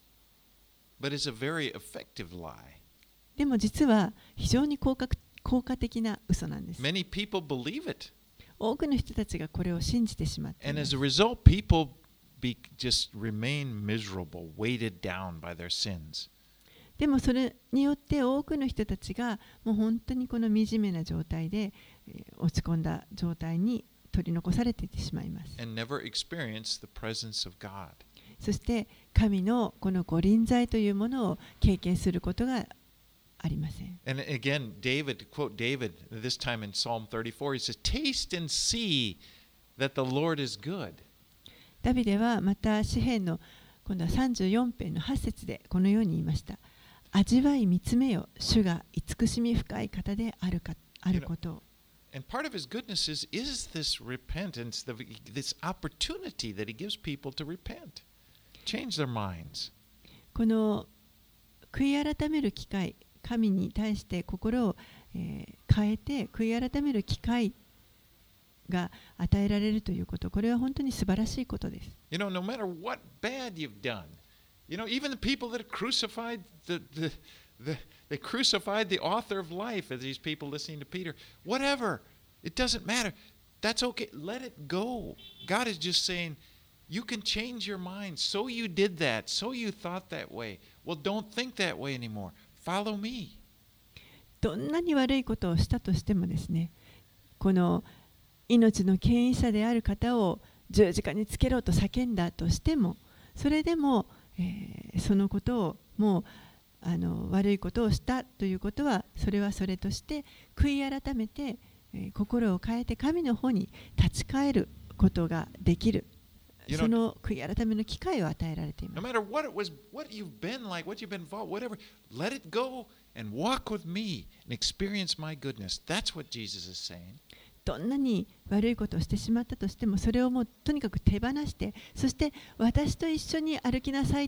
But it's a very effective lie. でも実は非常に効果、効果的な嘘なんです。 Many people believe it. 多くの人たちがこれを信じてしまっていま And す。 as a result, people be, just remain miserable, weighted down by their sins. でもそれによって多くの人たちがもう本当にこの惨めな状態で、えー、落ち込んだ状態に取り残されていってしまいます。 And never experience the presence of God. そして神のこのご臨在というものを経験することがありません。 And again, David, to quote David, this time in Psalm thirty-four, he says, taste and see that the Lord is good. ダビデはまた詩編の今度はさんじゅうよん編のはち節でこのように言いました。味わい見つめよ、主が慈しみ深い方であるか、あることを。 And part of his goodness is, is this repentance, the, this opportunity that he gives people to repent, change their minds. この悔い改める機会、神に対して心を、えー、変えて悔い改める機会が与えられるということ、これは本当に素晴らしいことです。 You know, no matter what bad you've done, you know, even the people that crucified the, the, the they crucified the author of life, as these people listening to Peter, whatever, it doesn't matter. That's okay. Let it go. God is just saying, you can change your mind. So you did that. So you thought that way. Well, don't think that way anymore. Follow me. どんなに悪いことをしたとしてもですね、この命の権威者である方を十字架につけろと叫んだとしても、それでも、えー、そのことをもうあの悪いことをしたということは、それはそれとして悔い改めて、えー、心を変えて神の方に立ち返ることができる。 You know, その悔い改めの機会を与えられています。 No matter what it was, what you've been like, what you've been involved, whatever, let it go and walk with me and experience my goodness. That's what Jesus is saying. どんなに悪いことをしてしまったとしても、それをもうとにかく手放して、そして私と一緒に歩きなさいと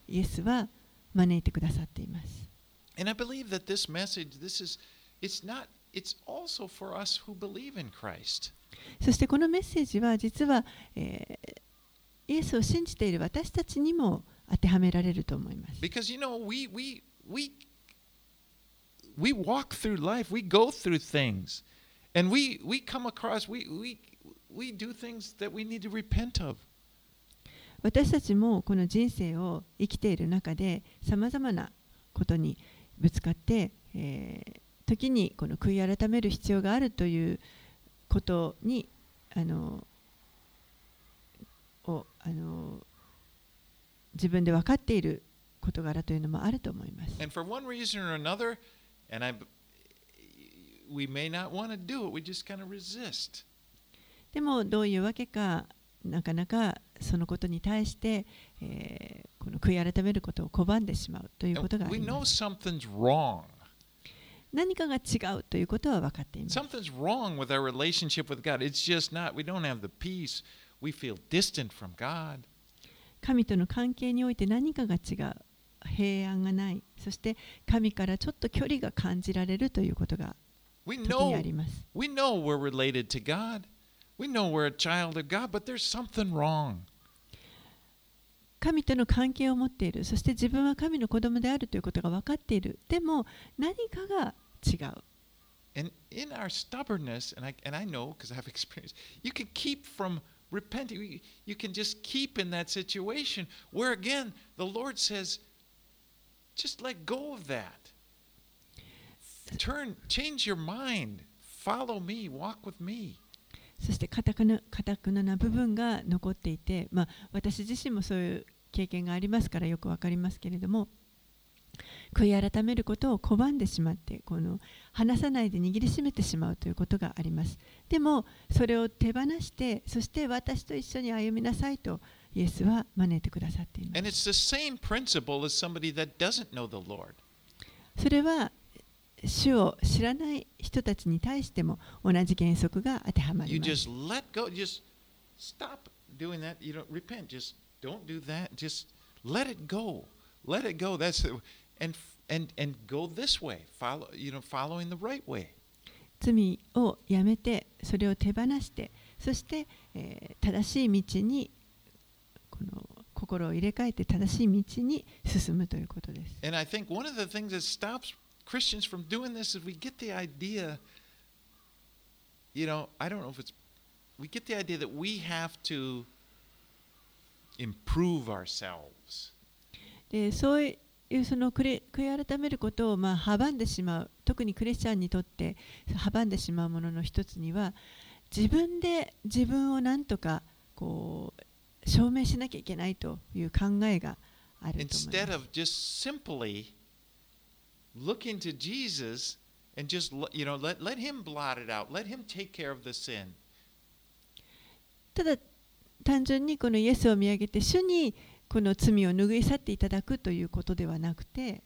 イエスは招いてくださっています。 And I believe that this message, this is, it's not, it's also for us who believe in Christ. そしてこのメッセージは実は、えー、イエスを信じている私たちにも当てはめられると思います。 Because you know, we we we we walk through life, we go through things, and we we come across, we we we do things that we need to repent of. 私たちもこの人生を生きている中でさまざまなことにぶつかって、えー、時にこの悔い改める必要があるということにあのをあの自分で分かっている事柄というのもあると思います。 And for one reason or another, and I, we may not want to do it, we just kind of resist. でもどういうわけかなかなかそのことに対して、えー、この悔い改めることを拒んでしまうということがあります。何かが違うということは分かっています。 Something's wrong with our relationship with God. It's just not, we don't have the peace. We feel distant from God. 神との関係において何かが違う。平安がない。そして神からちょっと距離が感じられるということが時にあります。 We know, we know we're related to God.We know we're a child of God, but there's something wrong. 神との関係を持っている。そして自分は神の子供であるということが分かっている。でも何かが違う。 And in our stubbornness, and I, and I know because I've experienced, you can keep from repenting. You can just keep in that situation where again the Lord says, just let go of that. Turn, change your mind. Follow me. Walk with me. そしてかたくな、かたくなな部分が残っていて、まあ、私自身もそういう経験がありますからよくわかりますけれども、悔い改めることを拒んでしまって、この離さないで握りしめてしまうということがあります。でもそれを手放して、そして私と一緒に歩みなさいとイエスは招いてくださっています。 And it's the same principle as somebody that doesn't know the Lord. それは主を知らない人たちに対しても同じ原則が当てはまります。 You just let go, just stop doing that. You don't repent. Just don't do that. Just let it go. Let it go. That's the, and and and go this way. Follow, you know, following the right way. 罪をやめて、それを手放して、そして、えー、正しい道にこの心を入れ替えて正しい道に進むということです。 And I think one of the things that stops Christians from doing this is we get the idea, you know, I don't know if it's, we get the idea that we have to improve ourselves. で、そういうその悔い改めることをまあ阻んでしまう、特にクリスチャンにとって阻んでしまうものの一つには、自分で自分をなんとかこう証明しなきゃいけないという考えがあると思います。 Instead of just simply look into Jesus and just, you know, let, let him blot it out. Let him take care of the sin. ただ単純にこのイエスを見上げて主にこの罪を拭い去っていただくということではなくて、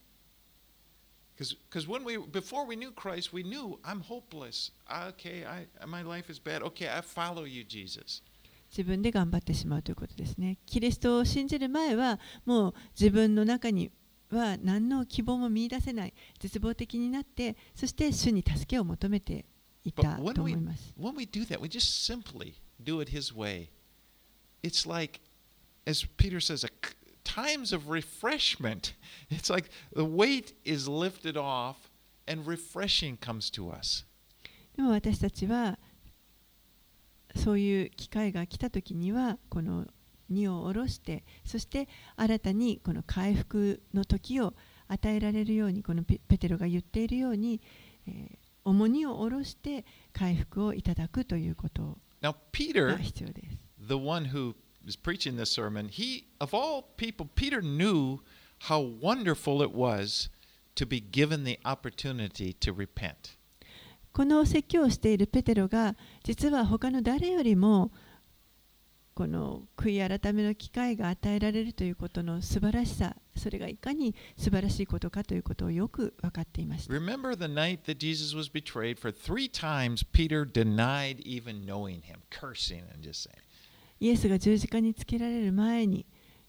Because when we, before we knew Christ, we knew I'm hopeless. Okay, I, my life is bad. Okay, I follow you, Jesus. 自分で頑張ってしまうということですね。キリストを信じる前はもう自分の中には何の希望も見出せない、絶望的になって、そして主に助けを求めていたと思います。 When we do that, we just simply do it His way. It's like, as Peter says, a, times of refreshment. It's like the weight is lifted off and refreshing comes to us. でも私たちはそういう機会が来たときには、この荷を下ろして、そして新たにこの回復の時を与えられるように、このペテロが言っているように、えー、重荷を下ろして回復をいただくということが必要です。Now, Peter, the one who is preaching this sermon, he, of all people, Peter knew how wonderful it was to be given the opportunity to repent. この説教をしているペテロが、実は他の誰よりもこの悔い改めの機会が与えられるということの素晴らしさ、それがいかに素晴らしいことかということをよく分かっていました。 Remember the night that Jesus was betrayed, for three times Peter denied even knowing him, cursing and just saying. イエスが十字架につけられる前に、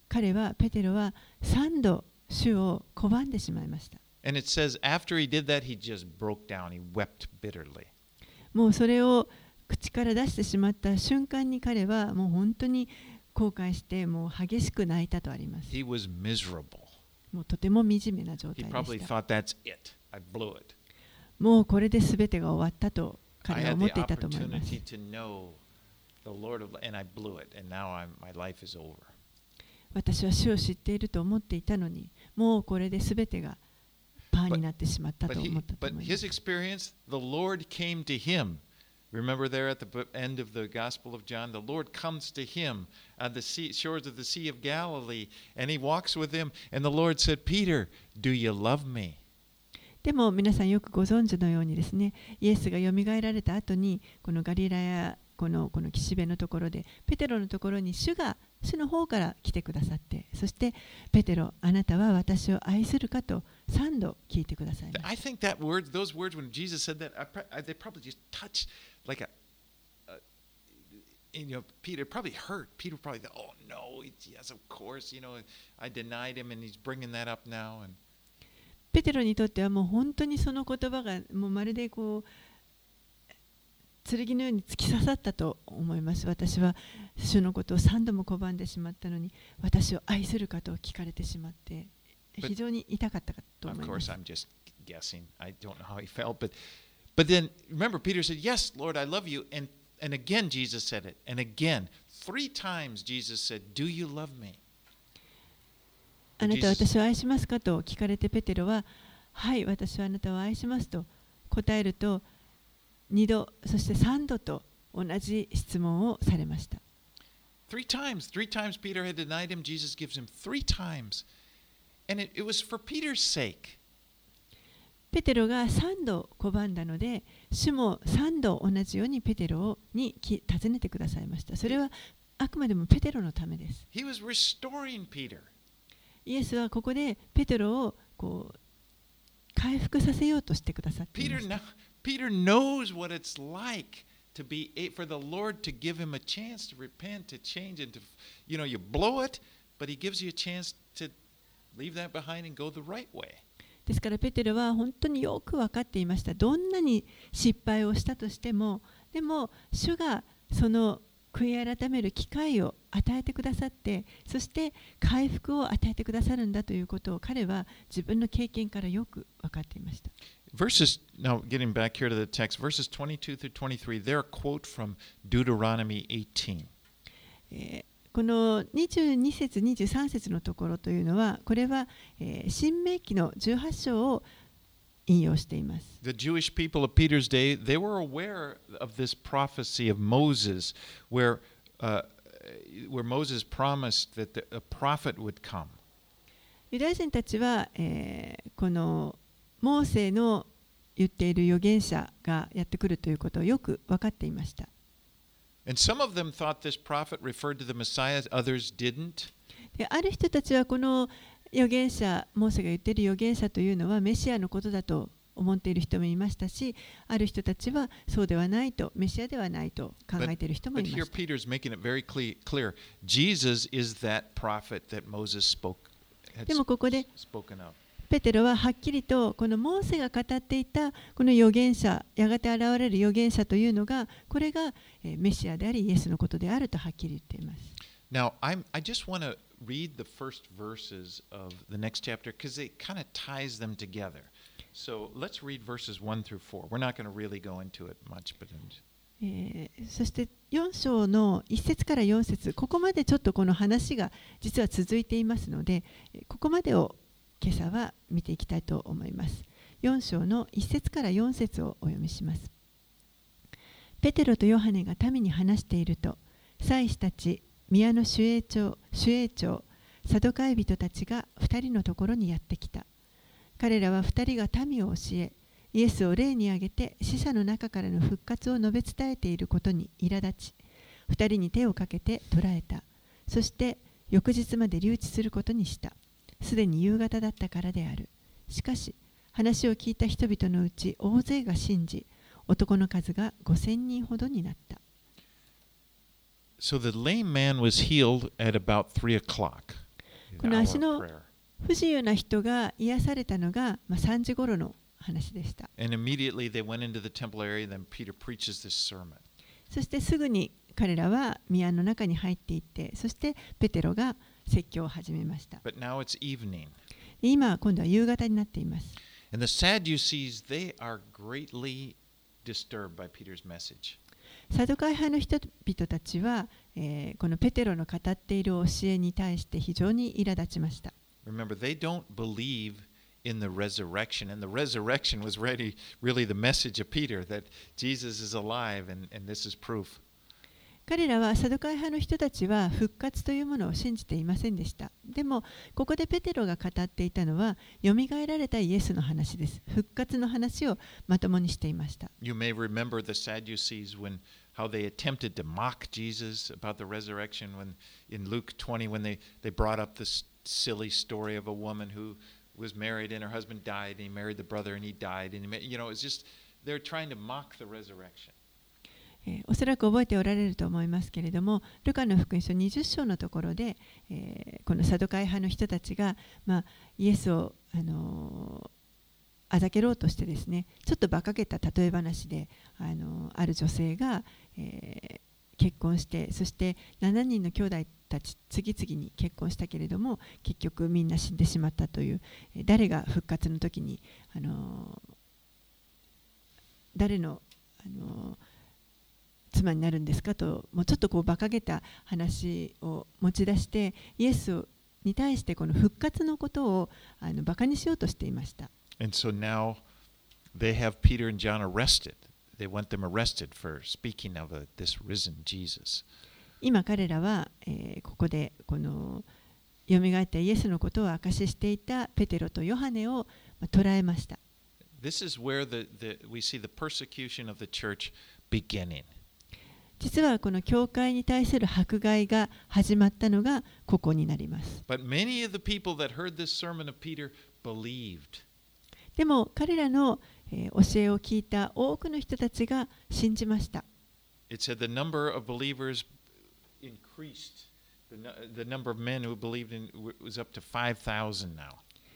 彼はペテロは三度主を拒んでしまいました。 And it says after he did that, he just broke down. He wept bitterly. もうそれを口から出してしまった瞬間に彼はもう本当に後悔してもう激しく泣いたとあります。 He was miserable. もうとても惨めな状 He 態 probably でした。 thought, that's it. I blew it. もうこれで全てが終わったと I 彼は had 思っ the ていたと思います。 opportunity to know the Lord of, and I blew it. And now I'm, my life is over. 私は主を知っていると思っていたのに、もうこれで全てがパーになってしまった But, と he, 思ったと but 思いま his す。 experience, the Lord came to him. Remember there at the b- end of the Gospel of John, the Lord comes to him on the sea, shores of the Sea of Galilee, and he walks with him. And the Lord said, Peter, do you love me? でも皆さんよくご存知のようにですね、イエスがよみがえられた後にこのガリラヤこのこの岸辺のところでペテロのところに主が主の方から来てくださって、そしてペテロあなたは私を愛するかと三度聞いてくださいま I す。 think that word, those words, when Jesus said that, I, pro- I, they probably just touched like a, a you know, Peter probably hurt. Peter probably thought, oh no, yes, of course, you know, I denied him, and he's bringing that up now. And ペテロにとってはもう本当にその言葉がもうまるでこう剣のように突き刺さったと思います。私は主のことを三度も拒んでしまったのに、私を愛するかと聞かれてしまって、非常に痛かったかと of 思いま course, す。 I'm just guessing. I don't know how he felt, but but then remember, Peter said, "Yes, Lord, I love you," and and again Jesus said it, and again three times Jesus said, "Do you love me?" あなたは私を愛しますかと聞かれてペテロは、はい、私はあなたを愛しますと答えると、二度、そして三度と同じ質問をされました。 Three times, three times Peter had denied him. Jesus gives him three times, and it, it was for Peter's sake. ペテロが三度拒んだので、主も三度同じようにペテロに尋ねてくださいました。それはあくまでもペテロのためです。 He was restoring Peter. イエスはここでペテロをこう回復させようとしてくださってい Peter ました。 now, Peter knows what it's like to be for the Lord to give him a chance to repent, to change, and to, you know, you blow it, but He gives you a chance to leave that behind and go the right way. ですからペテロは本当によく分かっていました。どんなに失敗をしたとしても、でも主がその悔い改める機会を与えてくださって、そして回復を与えてくださるんだということを彼は自分の経験からよく分かっていました。 Verses, now getting back here to the text, verses twenty-two through twenty-three, they're a quote from Deuteronomy eighteen. えーこのにじゅうに節、にじゅうさん節のところというのは、これは、えー、新明記のじゅうはち章を引用しています。 The Jewish people of Peter's day, they were aware of this prophecy of Moses, where, uh, where Moses promised that the, a prophet would come. ユダヤ人たちは、えー、このモーセの言っている預言者がやってくるということをよく分かっていました。 And some of them thought this prophet referred to the Messiah, others didn't. である人たちはこの預言者、モーセが言っている預言者というのはメシアのことだと思っている人もいましたし、ある人たちはそうではないと、メシアではないと考えている人もい But ま here した。 Peter's making it very cle- clear. Jesus is that prophet that Moses spoke, had でもここで spoken of. ペテロははっきりとこのモーセが語っていたこの預言者、やがて現れる預言者というのが、これがメシアでありイエスのことであるとはっきり言っています。 Now, I'm, I just want to read the first verses of the next chapter because it kind of ties them together. So let's read verses one through four. We're not going to really go into it much, but えー、そしてよん章のいち節からよん節、ここまでちょっとこの話が実は続いていますので、ここまでを今朝は見ていきたいと思います。よん章のいち節からよん節をお読みします。ペテロとヨハネが民に話していると、祭司たち、宮の守衛長、守衛長、サドカイ人たちが二人のところにやってきた。彼らは二人が民を教え、イエスを例に挙げて死者の中からの復活を述べ伝えていることに苛立ち、二人に手をかけて捕らえた。そして翌日まで留置することにした。すでに夕方だったからである。しかし、話を聞いた人々のうち大勢が信じ、男の数がごせんにんほどになった。 So the lame man was healed at about three o'clock. この足の不自由な人が癒されたのが、まあ、さんじ頃の話でした。 And immediately they went into the temple area, then Peter preaches this sermon. そしてすぐに彼らは宮の中に入っていって、そしてペテロが説教を始めました。 But now it's evening. 今、今度は夕方になっています。 And the Sadducees, they are greatly disturbed by Peter's message. サドカイ派の人々たちは、えー、このペテロの語っている教えに対して非常に苛立ちました。 Remember, they don't believe in the resurrection, and the resurrection was really, really the message of Peter, that Jesus is alive, and, and this is proof. 彼らはサドカイ派の人たちは復活というものを信じていませんでした。でも、ここでペテロが語っていたのは、よみがえられたイエスの話です。復活の話をまともにしていました。 You may remember the Sadducees when how they attempted to mock Jesus about the resurrection when in Luke twenty when they, they brought up this silly story of a woman who was married and her husband died and he married the brother and he died and he, you know it's just they're trying to mock the resurrection. えー、おそらく覚えておられると思いますけれども、ルカの福音書にじゅっ章のところで、えー、このサドカイ派の人たちが、まあ、イエスを、あのー、あざけろうとしてですね、ちょっと馬鹿げた例え話で、あのー、ある女性が、えー、結婚して、そしてしちにんの兄弟たち次々に結婚したけれども、結局みんな死んでしまったという、えー、誰が復活の時に、あのー、誰の、あのー妻になるんですかと、もうちょっとこう馬鹿げた話を持ち出して、イエスに対してこの復活のことをあの馬鹿にしようとしていました。 And so now they have Peter and John arrested. They want them arrested for speaking of a, this risen Jesus. 今彼らは、えー、ここでこのよみがえったイエスのことを証ししていたペテロとヨハネを、まあ、捕らえました。 This is where the, the, we see the persecution of the church beginning. 実はこの教会に対する迫害が始まったのがここになります。 But many of the people that heard this sermon of Peter believed. でも彼らの、えー、教えを聞いた多くの人たちが信じました。 It said the number of believers increased. The, the number of men who believed in was up to five thousand now.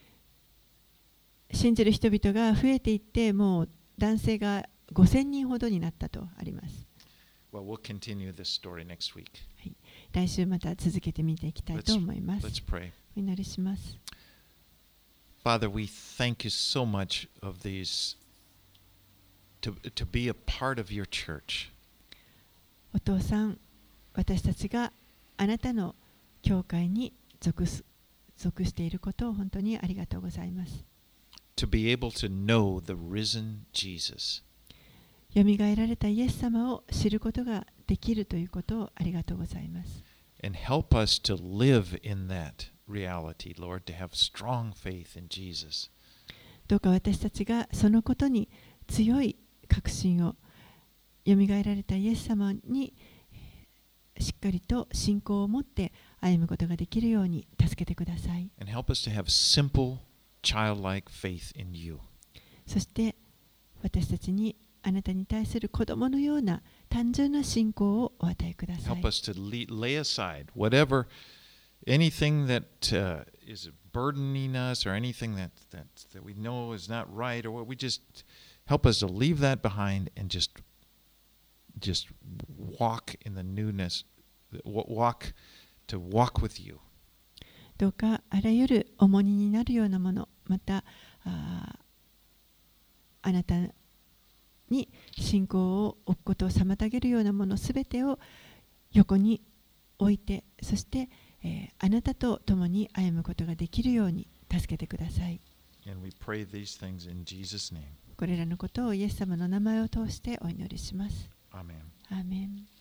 信じる人々が増えていって、もう男性がごせんにんほどになったとあります。 Well, we'll continue this story next week. はい、来週また続けて見ていきたいと思います。 Let's, let's pray. お祈りします。 Father, we thank you so much of these to, to be a part of your church. お父さん、私たちがあなたの教会に属す、属していることを本当にありがとうございます。 To be able to know the risen Jesus. よみがえられたイエス様を知ることができるということをありがとうございます。 And help us to live in that reality, Lord, to have strong faith in Jesus. どうか私たちがそのことに強い確信を、よみがえられたイエス様にしっかりと信仰を持って歩むことができるように助けてください。 And help us to have simple, childlike faith in you. そして私たちにあなたに対する子供のような単純な信仰をお与えください。 Help us to lay aside whatever, anything that uh, is burdening us or anything that, that, that we know is not right, or what we just help us to leave that behind and just, just walk in the newness, walk to walk with you. どうかあらゆる重荷になるようなもの、また あ, あなたに信仰を置くことを妨げるようなものすべてを横に置いて、そして、えー、あなたと共に歩むことができるように助けてください。 And we pray these things in Jesus' name. これらのことをイエス様の名前を通してお祈りします。 アーメン。 アーメン。